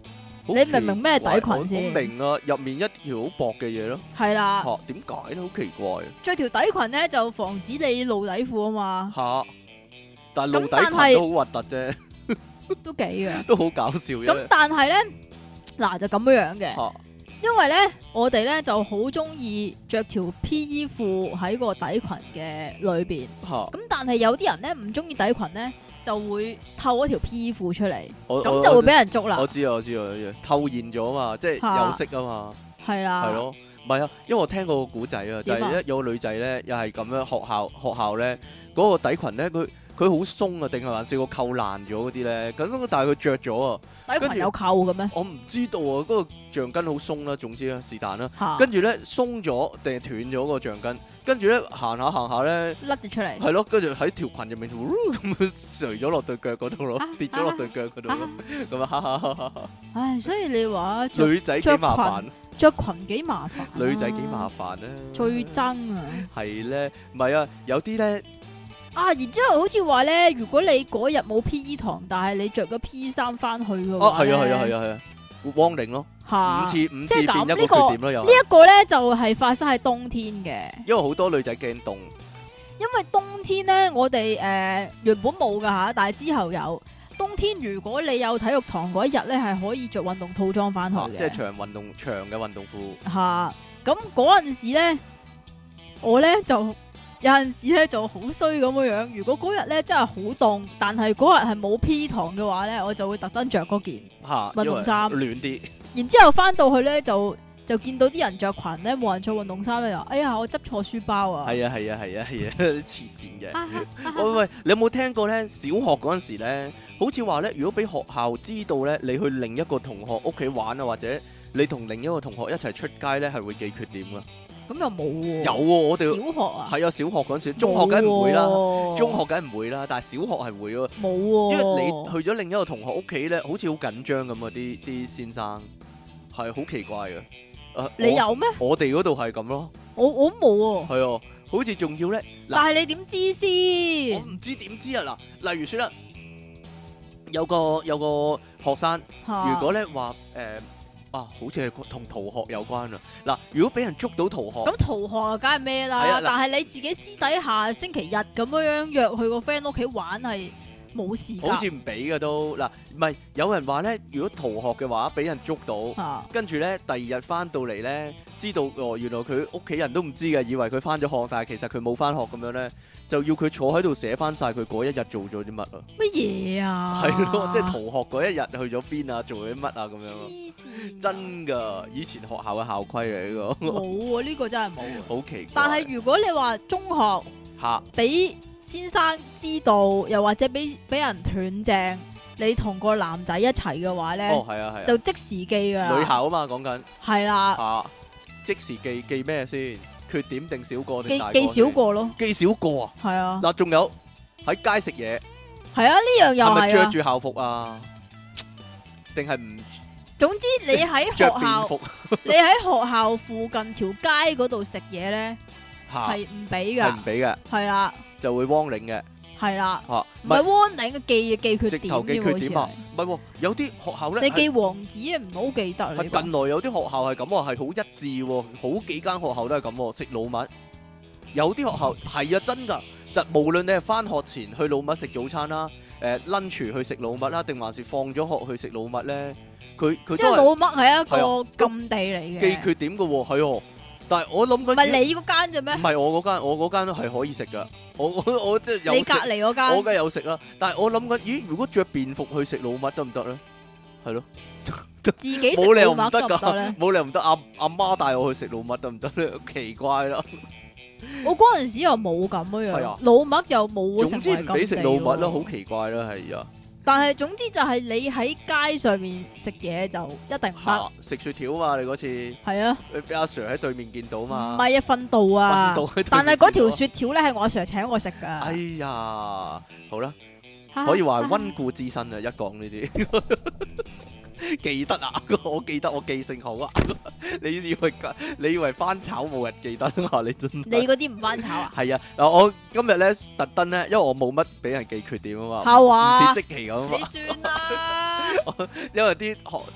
好你明唔明咩底奇怪裙先？ 我明啊，入面一條好薄嘅嘢咯。 係啦， 嚇點解咧？好奇怪着條底裙咧就防止你露底褲啊嘛， 嚇！但係露底咁但係裙都好核突啫， 都幾嘅。 都好搞笑咁啫。 但係咧，嗱就咁樣嘅， 嚇因為咧我哋咧就好中意着條 P.E. 褲喺個底裙嘅裏邊， 嚇！ 咁但係有啲人咧唔中意底裙咧，就會透嗰條 P.E. 褲出嚟， 我咁就會俾人捉啦我。知啊，我知啊，透現咗嘛，即係嚇有色啊嘛， 係啦， 係咯。唔係啊，因為我聽過個古仔啊，就點啊係有個女仔咧，又係咁樣學校咧嗰個底裙咧，佢好鬆啊，定係還是個扣爛咗嗰啲咧？咁但係佢着咗啊，跟住底裙有扣嘅咩？ 我唔知道啊，嗰個橡筋好鬆啦，總之啦，是但啦。 嚇， 跟住咧鬆咗定係斷咗個橡筋，跟住咧行下咧， 甩咗出嚟。 係咯，跟住喺條裙入面咁樣垂咗落對腳嗰度咯，跌咗落對腳嗰度咯，咁啊哈哈哈哈！ 唉，所以你話着女仔幾麻煩， 着裙幾麻煩啊， 女仔幾麻煩啊， 最憎啊！ 係咧，唔係啊，有啲咧啊，然之後好似話咧，如果你嗰日冇 P.E. 堂，但係你着咗 P.E. 衫翻去嘅哦， 話係啊，係啊，係咧， 啊，係啊，汪寧咯， 嚇五次即係咁變一個缺點咯，又呢一個咧就係發生喺冬天嘅， 因為好多女仔驚凍， 因為冬天咧我哋原本冇噶嚇，但係之後有。冬天如果你有體育堂嗰一日咧，係可以着運動套裝翻去嘅， 即係長嘅運動褲。 嚇。咁嗰陣時咧，我咧就有陣時咧就好衰咁樣樣。如果嗰日咧真係好凍，但係嗰日係冇 P 堂嘅話咧，我就會特登着嗰件。 嚇， 運動衫因為暖啲， 然之後翻到去咧就見到啲人着裙咧，冇人着運動衫咧，就哎呀我執錯書包啊！ 係啊，係啊，係啊，係啊，黐線嘅。喂，你有冇聽過咧？小學嗰陣時咧，好似話咧，如果俾學校知道咧，你去另一個同學屋企玩啊，或者你同另一個同學一齊出街咧，係會記缺點噶。 咁又冇喎。 有喎，我哋小學啊， 係啊，小學嗰陣時，中學梗係唔會啦， 冇喎中學梗係唔會啦，但係小學係會喎。 冇喎。 因為你去咗另一個同學屋企咧，好似好緊張咁啊！啲先生係好奇怪嘅。 你有咩？ 我哋嗰度係咁咯， 我冇喎。 係啊，好似仲要咧。 但係你點知我先？ 唔知點知啊！嗱，例如說啦，有個學生， 嚇如果咧話好似係同逃學有關啊！嗱，如果俾人捉到逃學， 咁逃學啊，梗係咩係啊嗱？ 啦但係你自己私底下星期日咁樣約去個 friend 屋企玩係冇事㗎。 好似唔俾嘅都嗱，唔係有人話咧，如果逃學嘅話，俾人捉到。 嚇跟住咧，第二日翻到嚟咧，知道原來佢屋企人都唔知嘅，以為佢翻咗學，但係其實佢冇翻學咁樣咧，就要佢坐喺度寫翻晒佢嗰一日做咗啲乜啊？ 乜嘢啊？ 係咯，即係逃學嗰一日去咗邊啊，做咗啲乜啊咁樣咯。 黐線真噶，以前學校嘅校規嚟呢個， 冇喎，呢個真係冇喎。 好奇怪。 但係如果你話中學嚇俾先生知道，又或者俾人斷正，你同個男仔一齊嘅話咧， 哦係啊係啊， 就即時記噶啦。 女校啊嘛講緊係啦， 嚇，即時記咩先？缺點定少過定大過記先？ 少個咯。 記少過啊！ 係啊， 嗱，仲有喺街食嘢， 係啊，呢樣又係咪着係啊。 住校服啊？定係唔總之你喺學着便校， 服你喺學校附近條街嗰度食嘢咧， 嚇？ 係唔俾係唔噶。 俾嘅， 係啦， 就會 warning 嘅係啦， 嚇。 唔係 warning 嘅記缺點直頭記添喎缺點啊！唔係喎，有啲學校咧你記王子啊，唔好記得你係近來有啲學校係咁喎，係好一致喎，好幾間學校都係咁喎，食老麥。有啲學校係啊，真㗎，實無論你係翻學前去老麥食早餐啦，lunch 去食老麥啦，定還是放咗學去食老麥咧，佢即係老都係麥係一係個禁地嚟記嘅， 缺點嘅喎，係喎。但係我諗緊， 唔係你嗰間啫咩唔？係我嗰間都係可以食㗎。我即係有你隔食， 離嗰間我梗係有食啦。但係我諗緊，咦？如果着便服去食老麥得唔得咧？係咯。 自己食冇理由唔得老麥得唔得咧㗎，？冇理由唔得。阿媽帶我去食老麥得唔得咧？奇怪啦。 我嗰陣時又冇咁樣係啊樣，老麥又冇總之成為唔俾食禁地老麥啦， 喎好奇怪啦，係啊。 但係總之就係你喺街上面食嘢就一定唔得， 嚇食雪條啊嘛，你嗰次係啊， 俾阿 Sir 喺對面見到唔嘛。 係啊訓導啊訓導喺對面， 但係嗰條見到雪條咧係我阿 Sir 請我食哎㗎， 呀，好啦，可以話係溫故知新啊！一講呢啲記得啊，我記得我記性好啊。你以為翻炒冇人記得啊？你真係你嗰啲唔翻炒啊？ 係啊！嗱，我今日咧特登咧，因為我冇乜俾人記缺點啊嘛， 係話唔似即期咁啊嘛你。算啦， 因為啲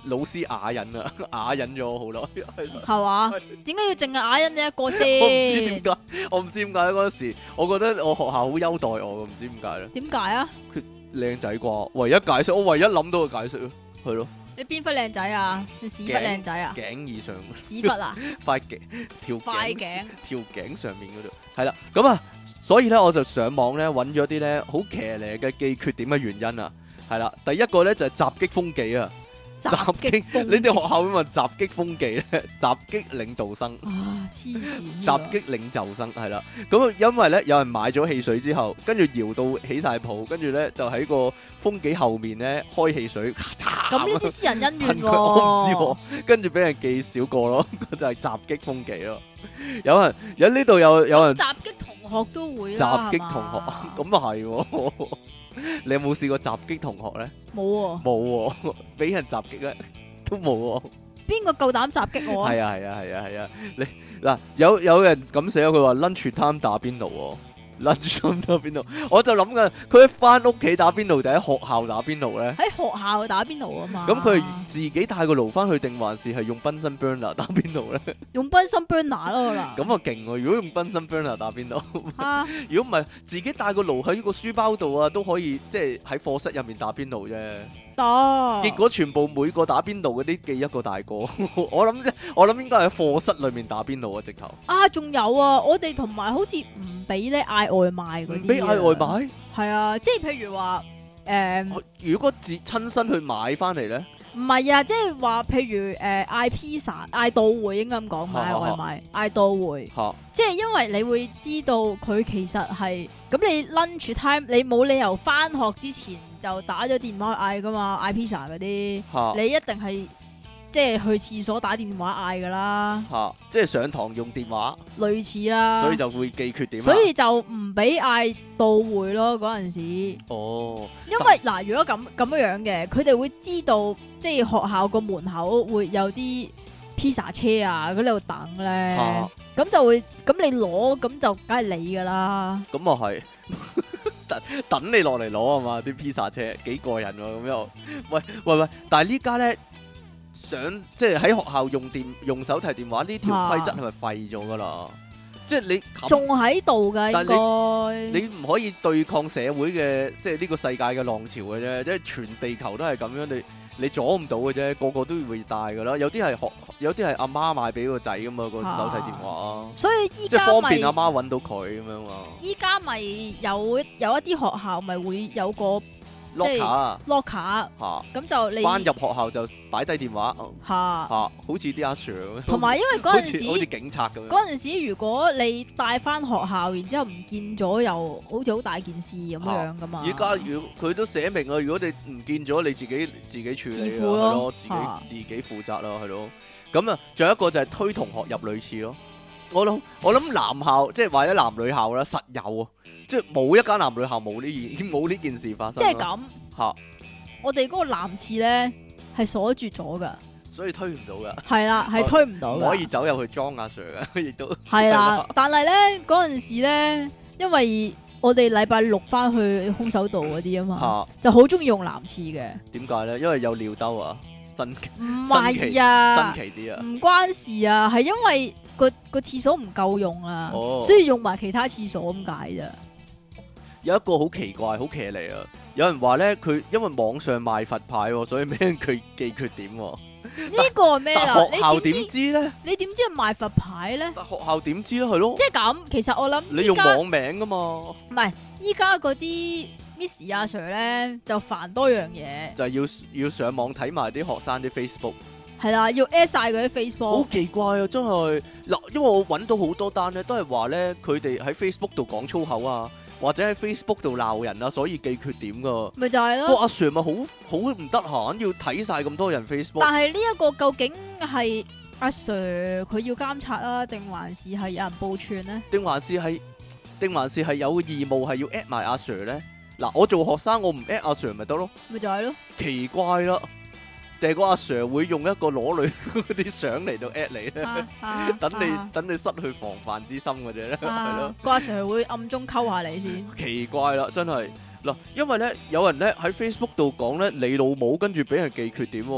老師啞忍啊，啞忍咗好耐， 係嘛？點解要淨係啞忍你一個我唔知先？ 點解，我唔知點解嗰陣時，我覺得我學校好優待我，唔知點解咧。 點解啊？ 靚仔啩，唯一解釋，我唯一諗到嘅解釋咯，係咯， 你邊忽靚仔啊？你屎忽靚仔啊？ 頸以上屎忽啊？ 塊頸條頸塊頸條頸上面嗰度，係啦，咁啊，所以咧我就上網咧揾咗啲咧好騎呢嘅記缺點嘅原因啊，係啦，第一個咧就係襲擊風紀啊。 襲擊風你哋學校會問襲擊風紀咧？襲擊領導生， 啊！黐線！ 襲擊領袖生係啦。咁因為咧有人買咗汽水之後，跟住搖到起晒泡，跟住咧就喺個風紀後面咧開汽水， 咁呢啲私人恩怨喎。 我唔知喎，跟住俾人記少個咯，就係襲擊風紀咯。有人有呢度有人襲擊同學都會襲擊啦， 同學， 係嘛咁啊係喎。你有冇試過襲擊同學咧？ 冇喎。 冇喎，俾人襲擊咧都冇喎。 邊個夠膽襲擊我啊？ 係啊係啊係啊係啊！你嗱有人咁寫，佢話 lunch time 打邊爐喎，lunch time 打邊爐，我就諗緊佢喺翻屋企打邊爐定喺學校打邊爐咧？ 喺學校打邊爐啊嘛。 咁佢係自己帶個爐翻去定還是係用賓森 burner 打邊爐咧？ 用賓森 burner 咯啦。 咁啊勁喎！如果用賓森 burner 打邊爐， 啊， 如果唔係自己帶個爐喺個書包度啊，都可以即係喺課室入面打邊爐啫。 得。 結果全部每個打邊爐嗰啲記一個大個，我諗應該係喺課室裏面打邊爐啊，直頭啊，仲有啊，我哋同埋好似唔俾咧嗌外賣嗰啲。 唔俾嗌外賣。 係啊，即係譬如話如果自親身去買翻嚟咧， 唔係啊，即係話譬如嗌 pizza 嗌到會應該咁講，唔係嗌外賣，嗌到會。 嚇即係因為你會知道佢其實係咁，你 lunch time 你冇理由翻學之前就打咗電話嗌噶嘛，嗌 pizza 嗰啲， 嚇你一定係即係去廁所打電話嗌噶啦， 嚇，即係上堂用電話， 類似啦， 所以就會記缺點啦。 所以就唔俾嗌到會咯嗰陣時，因哦， 為嗱如果咁樣嘅，佢哋會知道即係學校個門口會有啲 pizza 車啊，佢喺度等咧。 嚇咁就會，咁你攞，咁就梗係你噶啦。 咁啊係，等你落嚟攞啊嘛，啲 pizza 車幾過癮喎咁又，喂，但係呢家咧即係喺學校用手提電話呢條規則係咪廢咗噶啦？即係你仲喺度噶，應但該你唔可以對抗社會嘅，即係呢個世界嘅浪潮嘅啫，即係全地球都係咁樣，你阻唔到嘅啫，個個都會帶噶啦。有啲係阿媽買俾個仔噶嘛，個手提電話， 所以依即係家方便阿媽揾到佢咁樣嘛。 依家咪有一啲學校咪會有個 locker 啊 locker， 嚇， 咁就你翻入學校就擺低電話嚇， 好似啲阿 Sir 咁樣， 同埋因為嗰陣好似時警察咁樣。 嗰陣時，如果你帶翻學校，然之後唔見咗，又好似好大件事咁樣噶嘛。 而家佢都寫明啊，如果你唔見咗，你自己處理啊， 自負咯係咯，自己負責啦，係咯。咁啊，仲有一個就係推同學入女廁咯。我諗男校即係或者男女校啦，實有啊，即係冇一間男女校冇呢件事發生。 即係咁嚇， 我哋嗰個男廁咧係鎖住咗噶， 所以推唔到噶， 係啦，係推唔到㗎， 唔可以走入去裝阿 Sir 嘅，亦都係啦。但係咧嗰陣時咧，因為我哋禮拜六翻去空手道嗰啲啊嘛，就好中意用男廁嘅。 點解咧？因為有尿兜啊， 唔係啊， 新奇啲啊， 唔關事啊，係因為個廁所唔夠用啊，所以用埋其他廁所咁解咋。 有一個好奇怪、好騎呢啊！有人話咧，佢因為網上賣佛牌，所以俾人佢記缺點。 呢個係咩啦？ 但學校點知咧？ 你點知係賣佛牌咧？ 但學校點知咧？係咯， 即係咁。其實我諗你用網名噶嘛？ 唔係，依家嗰啲 Miss 阿 Sir 咧就煩多樣嘢， 就係要上網睇埋啲學生啲 Facebook。 係啦，要 at 晒佢啲 Facebook。 好奇怪啊！真係嗱，因為我揾到好多單咧，都係話咧佢哋喺 Facebook 度講粗口啊。或者喺 Facebook 度鬧人啊，所以記缺點噶。 咪就係咯。 個阿 Sir 咪好唔得閒，要睇晒咁多人 Facebook。 但係呢一個究竟係阿 Sir 佢要監察啊，定還是係有人報串呢？ 定還是係有義務係要 at 埋阿 Sir 咧？嗱，我做學生，我唔 at 阿 Sir 咪得咯。 咪就係咯。 奇怪啦，定係個阿 Sir 會用一個裸女嗰啲相嚟到 at 你咧？等你失去防範之心嘅啫咧，係咯。 個阿 Sir 會暗中溝下你先。 奇怪啦，真係嗱，因為咧有人咧喺 Facebook 度講咧你老母，跟住俾人記缺點喎。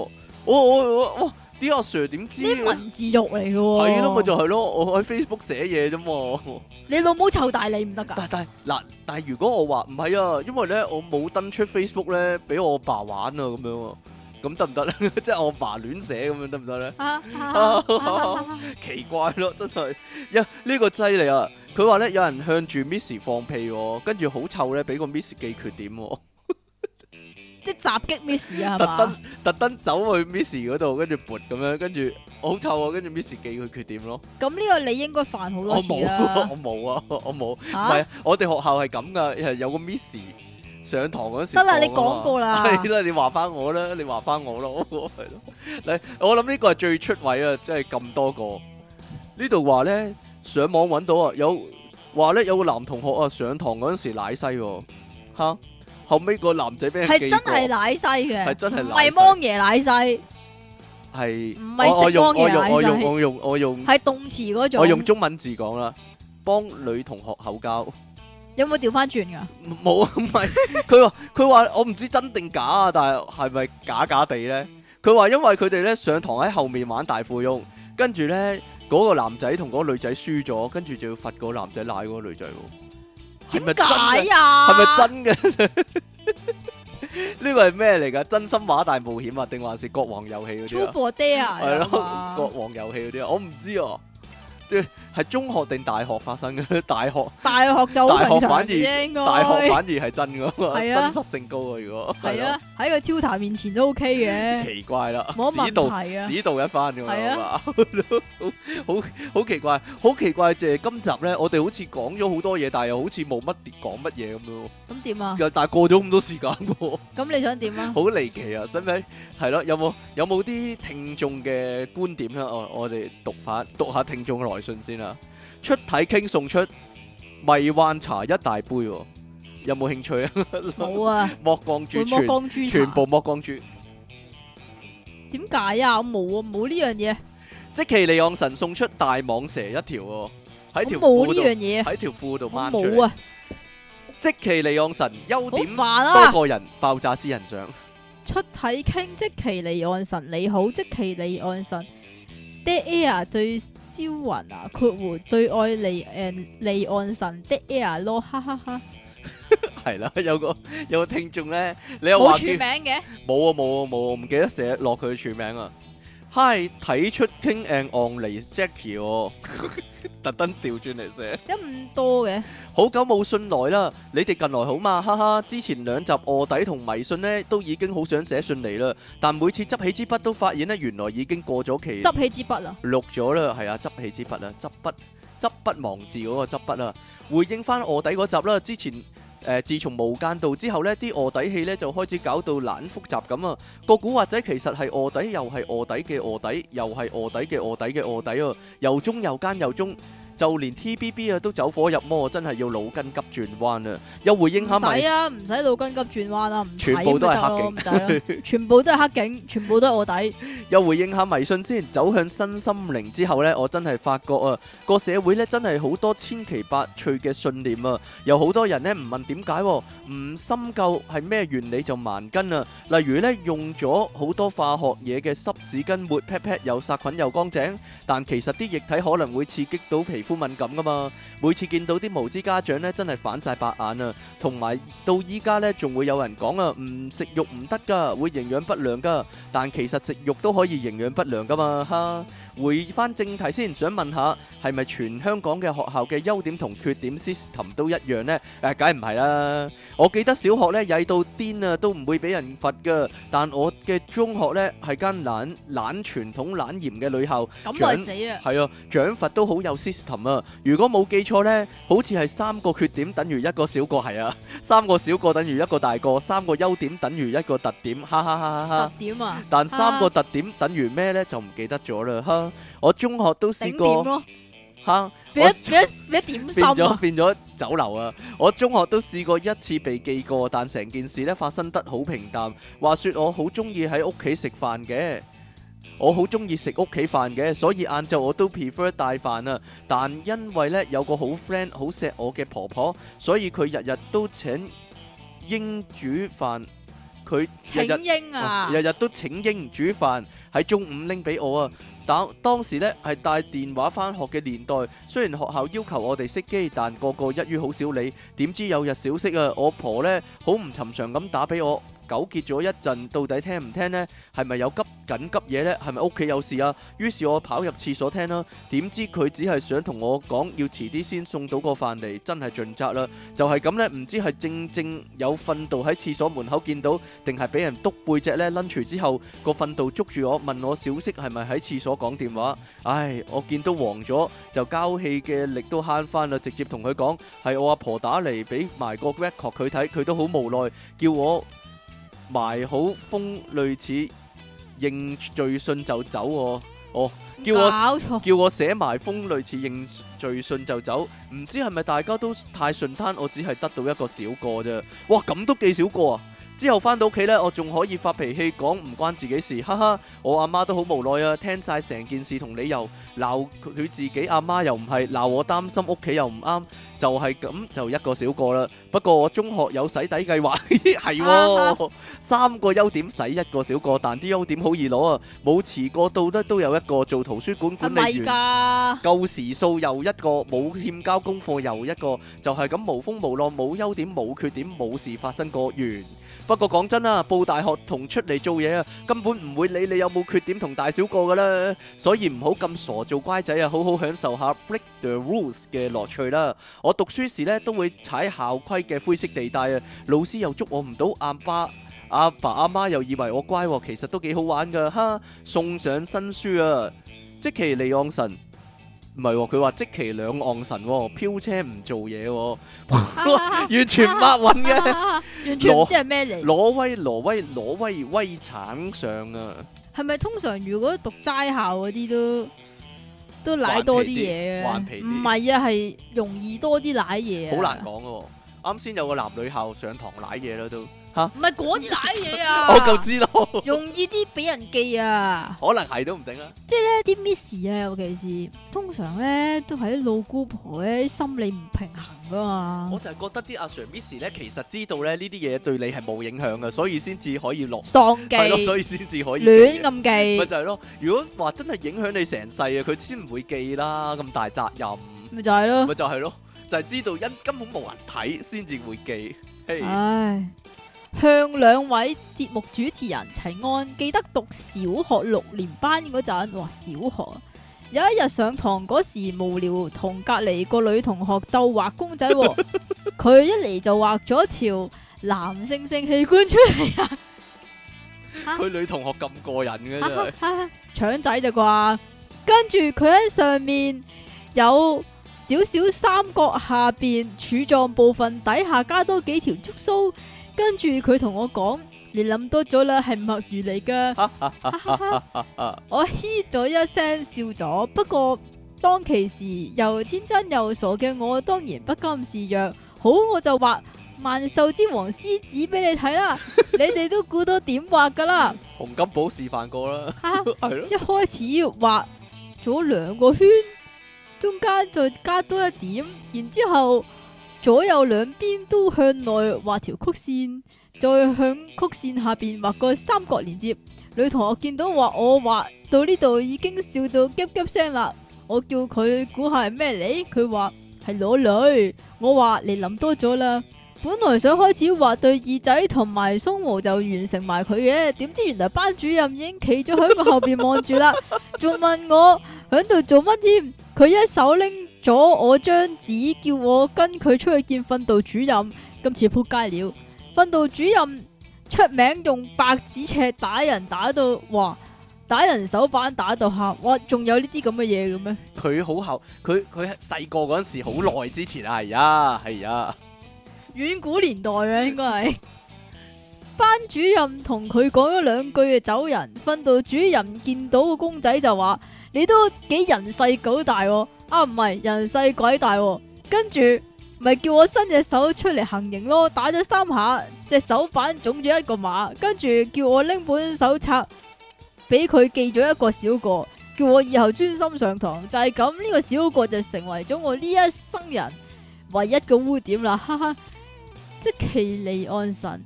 我啲阿 Sir 點知啲文字獄嚟嘅喎。 係咯，咪就係咯，我喺 Facebook 寫嘢啫嘛。 你老母臭大你唔得㗎。 但係如果我話唔係啊，因為咧我冇登出 Facebook 咧，俾我爸玩啊咁樣啊，咁得唔得咧？即係我爸亂寫咁樣得唔得咧？奇怪咯，真係呢個犀利啊！佢話咧有人向住 Miss 放屁喎，跟住好臭咧，俾個 Miss 記缺點喎。 即係襲擊 Miss 啊，係嘛？ 特登走去 Miss 嗰度，跟住撥咁樣，跟住好臭啊！跟住 Miss 記佢缺點咯。 咁呢個你應該犯好多次啦。 我冇啊，我冇。唔係，我哋學校係咁噶，係有個 Miss 上堂嗰時。 得啦，你講過啦。 係啦，你話翻我啦，你話翻我咯，係咯。嚟，我諗呢個係最出位啊！即係咁多個。呢度話咧，上網揾到啊，有話咧有個男同學啊，上堂嗰陣時舐西喎，嚇。後尾個男仔俾人記過， 係真係舐西嘅， 係真係唔係芒爺舐西， 係唔係食芒爺舐西， 我用係動詞嗰種。 我用中文字講啦，幫女同學口交。 有冇調翻轉㗎？ 冇啊，唔係佢話我唔知真定假啊，但係咪假假地咧？佢話因為佢哋咧上堂喺後面玩大富翁，跟住咧嗰個男仔同嗰個女仔輸咗，跟住就要罰嗰個男仔舐嗰個女仔喎。 點解啊？ 係咪真嘅？呢個係咩嚟噶？真心話大冒險啊，定還是國王遊戲嗰啲啊？ True for Dare 係咯，國王遊戲嗰啲啊，我唔知啊。即係中學定大學發生嘅？大學就好平常啫，應該。大學反而係真噶嘛，真實性高啊！如果係啊，喺個 tutor 面前都 OK 嘅。 奇怪啦， 冇乜問題啊， 指導一番咁係啊， 好奇怪，好奇怪！即係今集咧，我哋好似講咗好多嘢，但係又好似冇乜講乜嘢咁樣。咁點啊？ 又但係過咗咁多時間喎。 咁你想點啊？ 好離奇啊！使唔使係咯？有冇啲聽眾嘅觀點咧？我哋讀下聽眾嘅來信先啦。出體傾送出迷幻茶一大杯，有冇興趣啊？ 冇啊！ 剝光豬，全部剝光豬。 點解啊？我冇啊，冇呢樣嘢。 積淇離岸神送出大蟒蛇一條喎，喺條冇呢樣嘢， 喺條褲度掹出嚟。 冇啊！ 積淇離岸神優點多個人爆炸私人相。 出體傾積淇離岸神你好，積淇離岸神 Dead Air 最招魂啊！括弧最愛離岸神 Dead Air 咯，哈哈哈！ 係啦，有個聽眾咧，你又話冇署名嘅？ 冇啊，唔記得寫落佢嘅署名啊。Hi， 睇出傾 and on 嚟 Jackie 喎，特登調轉嚟寫。 有咁多嘅？ 好久冇信來啦，你哋近來好嘛？哈哈，之前兩集臥底同迷信呢，都已經好想寫信嚟啦，但每次執起支筆都發現呢，原來已經過咗期。 執起支筆啊？ 錄咗啦，係啊，執起支筆啊，執筆忘字嗰個執筆啊，回應翻臥底嗰集啦，之前。自從無間道之後呢，啲臥底戲呢就開始搞到懶複雜咁啊！個古惑仔其實係臥底，又係臥底嘅臥底，又係臥底嘅臥底嘅臥底啊！又忠又奸又忠，就連 TBB 啊都走火入魔，真係要腦筋急轉彎啊！又回應下咪？唔使啊，唔使腦筋急轉彎啊，唔全部都係黑警，唔使啦，全部都係黑警，全部都係臥底。又回應下迷信先，走向新心靈之後呢，我真係發覺啊，個社會呢真係好多千奇百趣嘅信念啊！有好多人呢唔問點解，唔深究係咩原理就盲根啊！例如呢，用咗好多化學嘢嘅濕紙巾抹 pat pat 又殺菌又乾淨，但其實啲液體可能會刺激到皮膚敏感噶嘛。每次見到啲無知家長呢，真係反晒白眼啊！同埋到依家呢，仲會有人講啊，唔食肉唔得噶，會營養不良噶。但其實食肉都可以營養不良噶嘛，哈！回翻正題先，想問下係咪全香港嘅學校嘅優點同缺點 system 都一樣呢？梗係唔係啦！我記得小學呢曳到癲啊，都唔會俾人罰噶。但我嘅中學呢係間懶傳統懶嚴嘅女校，咁咪死啊！係啊，獎罰都好有 system 啊！如果冇記錯呢，好似係3個缺點等於1個小個，係啊，3個小個等於1個大個，3個優點等於1個特點，哈哈哈哈！特點啊！但3個特點等於咩呢？就唔記得咗啦，哈！我中學都試過嚇，變咗酒樓啊！我中學都試過一次被記過，但成件事咧發生得好平淡。話說我好中意喺屋企食飯嘅，我好中意食屋企飯嘅，所以晏晝我都 prefer 帶飯啊。但因為咧有個好 friend 好錫我嘅婆婆，所以佢日日都請英煮飯。 佢日請日纓啊， 日日都請纓煮飯，喺中午拎俾我啊。當時呢係帶電話返學嘅年代，雖然學校要求我哋熄機，但個個一於好少理。點知有日小息啊，我婆呢好唔尋常咁打俾我。糾結咗一陣，到底聽唔聽呢？係咪有緊急嘢呢？係咪屋企有事啊？於是我跑入廁所聽啦。點知佢只係想同我講要遲啲先送到個飯嚟，真係盡責啦。就係咁呢，唔知係正有訓導喺廁所門口見到，定係俾人督背脊呢？lunch之後個訓導捉住我，問我小息係咪喺廁所講電話。唉，我見到黃咗，就交氣嘅力都慳翻啦，直接同佢講係我阿婆打嚟，俾埋個 record 佢睇，佢都好無奈，叫我埋好封類似認罪信就走喎。哦，叫我寫埋封類似認罪信就走。唔知係咪大家都太順攤，我只係得到一個小過啫。哇，咁都幾少個啊！之後翻到屋企呢，我仲可以發脾氣講唔關自己事，哈哈！我阿媽都好無奈啊，聽晒成件事同理由，鬧佢自己阿媽又唔係，鬧我擔心屋企又唔啱，就係咁就一個小過啦。不過我中學有洗底計劃，係喎，3個優點洗一個小過，但啲優點好易攞啊！冇遲過到得都有一個，做圖書館管理員夠時數又一個，冇欠交功課又一個，就係咁無風無浪，冇優點冇缺點，冇事發生過完。不過講真啦，報大學同出嚟做嘢啊，根本唔會理你有冇缺點同大小過噶啦，所以唔好咁傻做乖仔啊，好好享受下 break the rules 嘅樂趣啦。我讀書時呢都會踩校規嘅灰色地帶啊，老師又捉我唔到，阿爸阿媽又以為我乖，其實都幾好玩噶，哈！送上新書啊，積淇離岸神。唔係喎，佢話積淇兩岸神喎，飄車唔做嘢喎，完全抹暈嘅， 完全唔知係咩嚟。 挪威威橙上啊！ 係咪通常如果讀齋校嗰啲都舐多啲嘢嘅？唔係啊，係容易多啲舐嘢啊！ 好難講嘅喎，啱先有個男女校上堂舐嘢啦都。 唔係嗰啲舐嘢啊！ 我就知道， 容易啲俾人記啊！ 可能係都唔定啦。 即係咧啲 miss 啊，尤其是通常咧都係啲老姑婆咧心理唔平衡噶嘛。 我就係覺得啲阿 Sir Miss 咧，其實知道咧呢啲嘢對你係冇影響嘅，所以先至可以落喪記， 係咯，所以先至可以亂咁記。 咪就係咯。如果話真係影響你成世啊，佢先唔會記啦，咁大責任。 咪就係咯， 咪就係咯，就係知道根本冇人睇，先至會記。 唉。向兩位節目主持人齊安，記得讀小學6年班嗰陣，哇小學有一日上堂嗰時無聊，同隔籬個女同學鬥畫公仔，佢一嚟就畫咗條男性性器官出嚟啊！ 佢女同學咁過癮嘅真係， 腸仔就啩，跟住佢喺上面有少少三角，下邊柱狀部分底下加多幾條觸鬚。跟住佢同我講，你諗多咗啦，係墨魚嚟噶。我嘻咗一聲笑咗，不過當其時又天真又傻嘅我，當然不甘示弱。好，我就畫萬獸之王獅子俾你睇啦，你哋都估到點畫噶啦。 洪金寶示範過啦，係咯。 一開始畫咗2個圈，中間再加多一點，然之後。左右兩邊都向內畫條曲線，再向曲線下邊畫個三角連接。女同學見到我畫到呢度已經笑到急急聲啦。我叫佢估下係咩嚟，佢話係裸女。我話你諗多咗啦。本來想開始畫對耳仔同埋鬆毛就完成埋佢嘅，點知原來班主任已經企咗喺我後邊望住啦，仲問我喺度做乜添。佢一手拎咗我張紙，叫我跟佢出去見訓導主任。今次撲街了，訓導主任出名用白紙尺打人，打到哇，打人手板打到喊，哇，仲有呢啲咁嘅嘢嘅咩？佢好後，佢細個嗰陣時好耐之前啊，係啊， 遠古年代啊，應該係。班主任同佢講咗2句就走人。訓導主任見到個公仔就話：你都幾人細狗大喎。啊，唔係人細鬼大喎。跟住咪叫我伸隻手出嚟行刑咯，打咗3下，隻手板腫咗1個碼。跟住叫我拎本手冊俾佢記咗1個小過，叫我以後專心上堂。就係咁，呢個小過就成為咗我呢一生人唯一嘅污點啦。哈哈，積淇離岸神。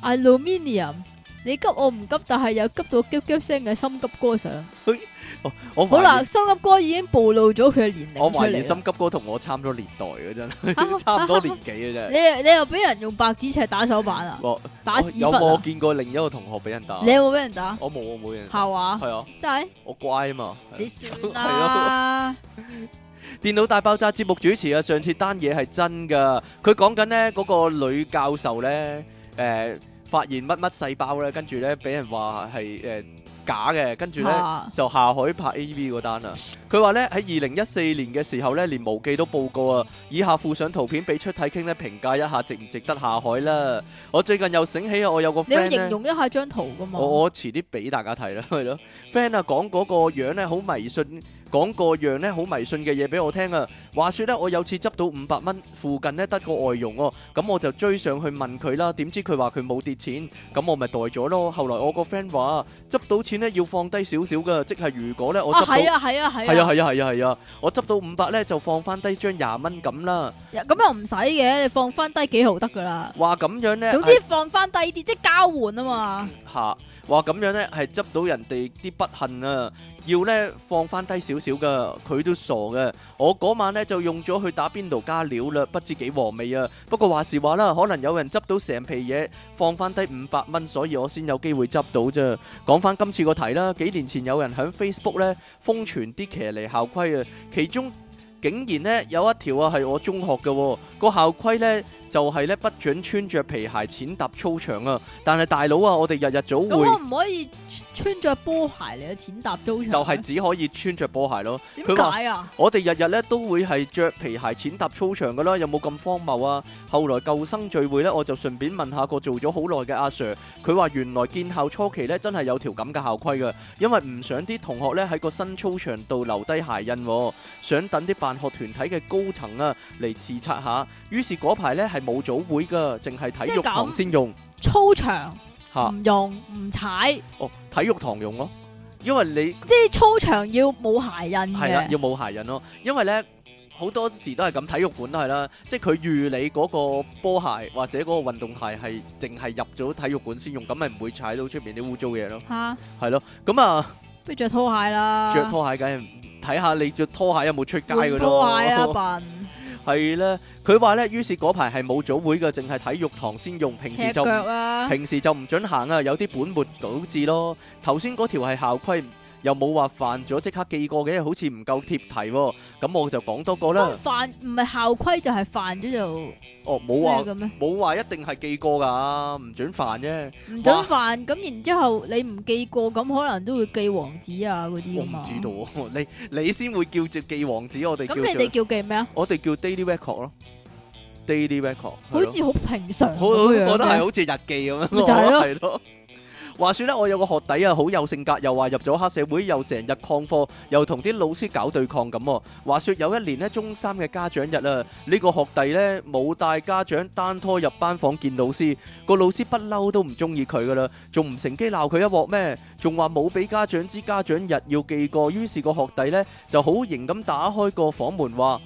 aluminium，你急我唔急，但係又急到急急聲嘅心急歌上。 我好啦，心急歌已經暴露咗佢嘅年齡我出嚟啦。 懷疑心急哥同我差唔多年代嘅真，差唔多年紀嘅真。 你又俾人用白紙尺打手板啊？ 我打屎有冇忽啊？ 見過另一個同學俾人打？ 你有冇俾人打？ 我冇人。 係話係啊， 真係我乖啊嘛。 你算啦。 電腦大爆炸節目主持啊，上次單嘢係真噶，佢講緊呢嗰個女教授呢，發現乜乜細胞呢，跟住呢俾人話係假嘅，跟住呢就下海拍 AV 嗰單啊。佢話呢喺2014年嘅時候呢，連無記都報告啊。以下附上圖片俾出體傾呢評價一下值唔值得下海啦。我最近又醒起啊，我有個 friend 呢， 你要形容一下張圖噶嘛？ 我遲啲俾大家睇啦，係咯。friend 啊講嗰個樣呢好迷信。講個樣咧好迷信嘅嘢俾我聽啊！話說咧，我有次執到500蚊，附近咧得個外傭喎，咁我就追上去問佢啦。點知佢話佢冇跌錢，咁我咪袋咗咯。後來我個 friend 話執到錢咧要放低少少噶，即係如果咧我執到係啊，我執到500咧就放翻低張20蚊咁啦。 咁又唔使嘅，你放翻低幾毫得噶啦。 話咁樣咧， 總之放翻低啲，即係交換啊嘛。 嚇！話咁樣咧係執到人哋啲不幸啊！要咧放翻低少少噶，佢都傻嘅。我嗰晚咧就用咗去打邊爐加料啦，不知幾和味啊！不過話時話啦，可能有人執到成皮嘢放翻低500蚊，所以我先有機會執到啫。講翻今次個題啦，幾年前有人喺 Facebook 咧瘋傳啲騎呢校規啊，其中竟然咧有一條啊係我中學嘅個校規咧。就係咧不准穿着皮鞋踐踏操場啊！但係大佬啊，我哋日日早會咁我唔可以穿着波鞋嚟去踐踏操場？ 就係只可以穿着波鞋咯。 點解啊？ 我哋日日咧都會係着皮鞋踐踏操場噶啦，有冇咁荒謬啊？後來舊生聚會咧，我就順便問下個做咗好耐嘅阿 Sir，佢話原來建校初期咧真係有條咁嘅校規噶，因為唔想啲同學咧喺個新操場度留低鞋印，想等啲辦學團體嘅高層啊嚟視察下。於是嗰排咧係冇早會噶，淨係體育堂先用操場， 吓唔用唔踩。 哦，體育堂用咯，因為你即係操場要冇鞋印嘅。 係啦，要冇鞋印咯，因為咧好多時都係咁，體育館都係啦，即係佢預你嗰個波鞋或者嗰個運動鞋係淨係入咗體育館先用，咁咪唔會踩到出面啲污糟嘢咯。 吓， 係咯，咁啊， 不如着拖鞋啦。 着拖鞋梗係睇下你着拖鞋有冇出街噶咯。 拖鞋啊，笨。 係啦，佢話咧，於是嗰排係冇早會嘅，淨係體育堂先用，平時就唔準行啊，有啲本末倒置咯。頭先嗰條係校規，又冇話犯咗即刻記過嘅，好似唔夠貼題喎。咁我就講多個啦。 犯唔係校規就係犯咗就冇話一定係記過㗎，唔準犯啫。 唔準犯，咁然之後你唔記過，咁可能都會記黃紙啊嗰啲㗎嘛。 我唔知道喎，你先會叫做記黃紙，我哋咁你哋叫記咩啊？ 我哋叫 daily record 咯，daily record。 好似好平常咁樣。 我覺得係好似日記咁樣。 咪就係咯。話說咧，我有個學弟啊，好有性格，又話入咗黑社會，又成日曠課，又同啲老師搞對抗咁。話說有一年呢，中三嘅家長日啊，呢個學弟呢冇帶家長，單拖入班房見老師，個老師不嬲都唔中意佢噶啦，仲唔乘機鬧佢一鑊咩？仲話冇俾家長知家長日要記過，於是個學弟呢就好型咁打開個房門話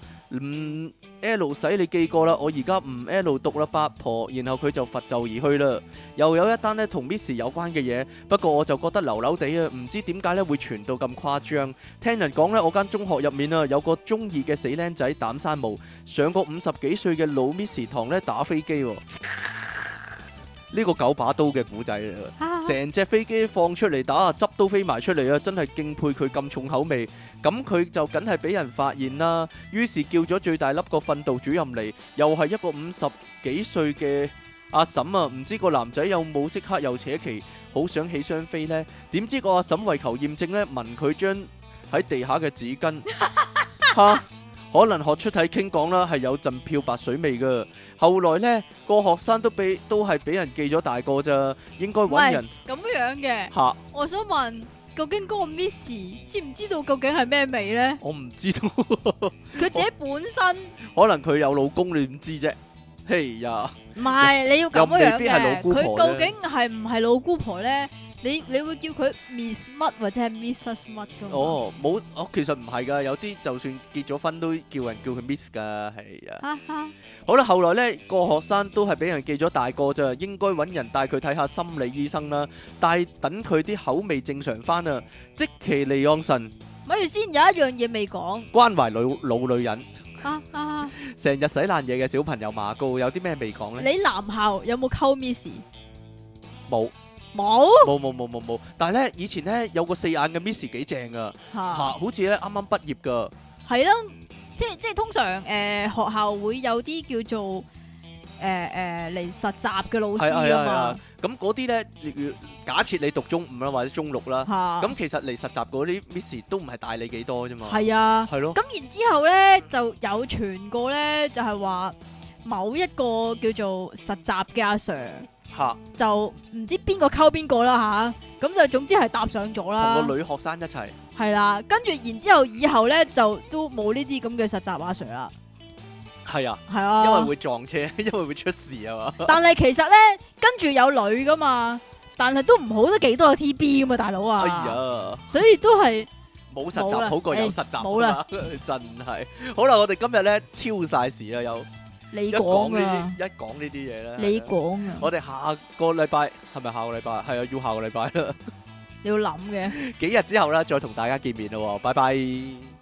L 使你記過啦，我而家唔 L 讀啦，八婆。然後佢就拂袖而去啦。又有一單呢同 Miss 有關嘅嘢，不過我就覺得流流地啊，唔知點解呢會傳到咁誇張。聽人講呢，我間中學入面啊有個中意嘅死僆仔膽生毛，上個50幾歲嘅老 Miss 堂呢打飛機。呢個9把刀嘅古仔啊，成隻飛機放出嚟打，汁都飛埋出嚟啊！真係敬佩佢咁重口味。咁佢就梗係俾人發現啦。於是叫咗最大粒個訓導主任嚟，又係一個50幾歲嘅阿嬸啊！唔知個男仔有冇即刻又扯旗，好想起雙飛呢？點知個阿嬸為求驗證呢，聞佢將喺地下嘅紙巾嚇。可能學出體傾講啦，係有陣漂白水味噶。後來呢個學生都係俾人記咗大過咋，應該揾人咁樣嘅。 嚇， 我想問，究竟嗰個 Miss 知唔知道究竟係咩味呢？ 我唔知道。 佢自己本身可能佢有老公，你點知啫？ 嘿呀， 唔係你要咁樣又未必係老嘅， 姑婆佢究竟係唔係老姑婆咧？你會叫佢 Miss 乜或者係 Mrs 乜噶嘛？ 哦，冇，其實唔係噶，有啲就算結咗婚都叫佢 Miss 噶，係啊。 哈哈， 好啦，後來呢個學生都係俾人記咗大過咋，應該揾人帶佢睇下心理醫生啦，但等佢啲口味正常翻啊。積淇離岸神咪住先，有一樣嘢未講。 關懷老女人， 哈哈， 成日洗爛嘢嘅小朋友馬高，有啲咩未講呢？ 你男校有冇溝 Miss？ 冇冇冇，但係呢，以前呢，有個四眼嘅 Miss 幾正噶， 嚇， 好似咧啱啱畢業噶。 係咯，即係通常學校會有啲叫做嚟實習嘅老師啊嘛。 咁嗰啲咧，假設你讀中五啦，或者中六啦， 嚇， 咁其實嚟實習嗰啲 Miss 都唔係大你幾多啫嘛。 係啊。 係咯， 咁然之後咧就有傳過咧，就係話某一個叫做實習嘅阿 Sir 嚇， 就唔知邊個溝邊個啦吓，咁就總之係搭上咗啦。 同個女學生一齊。 係啦，跟住然之後以後咧就都冇呢啲咁嘅實習阿 Sir 啦。 係啊， 係啊， 因為會撞車，因為會出事啊嘛。 但係其實咧跟住有女噶嘛，但係都唔好得幾多個 TB 噶嘛，大佬啊。 哎呀， 所以都係冇實冇啦習好過有實習冇啦， 真係。好啦，我哋今日咧超晒時啦，又你一講講啊， 呢啲嘢咧。 你講啊， 我哋下個禮拜係咪下個禮拜？係啊，要下個禮拜啦。 你要諗嘅。 幾日之後咧，再同大家見面咯喎，拜拜。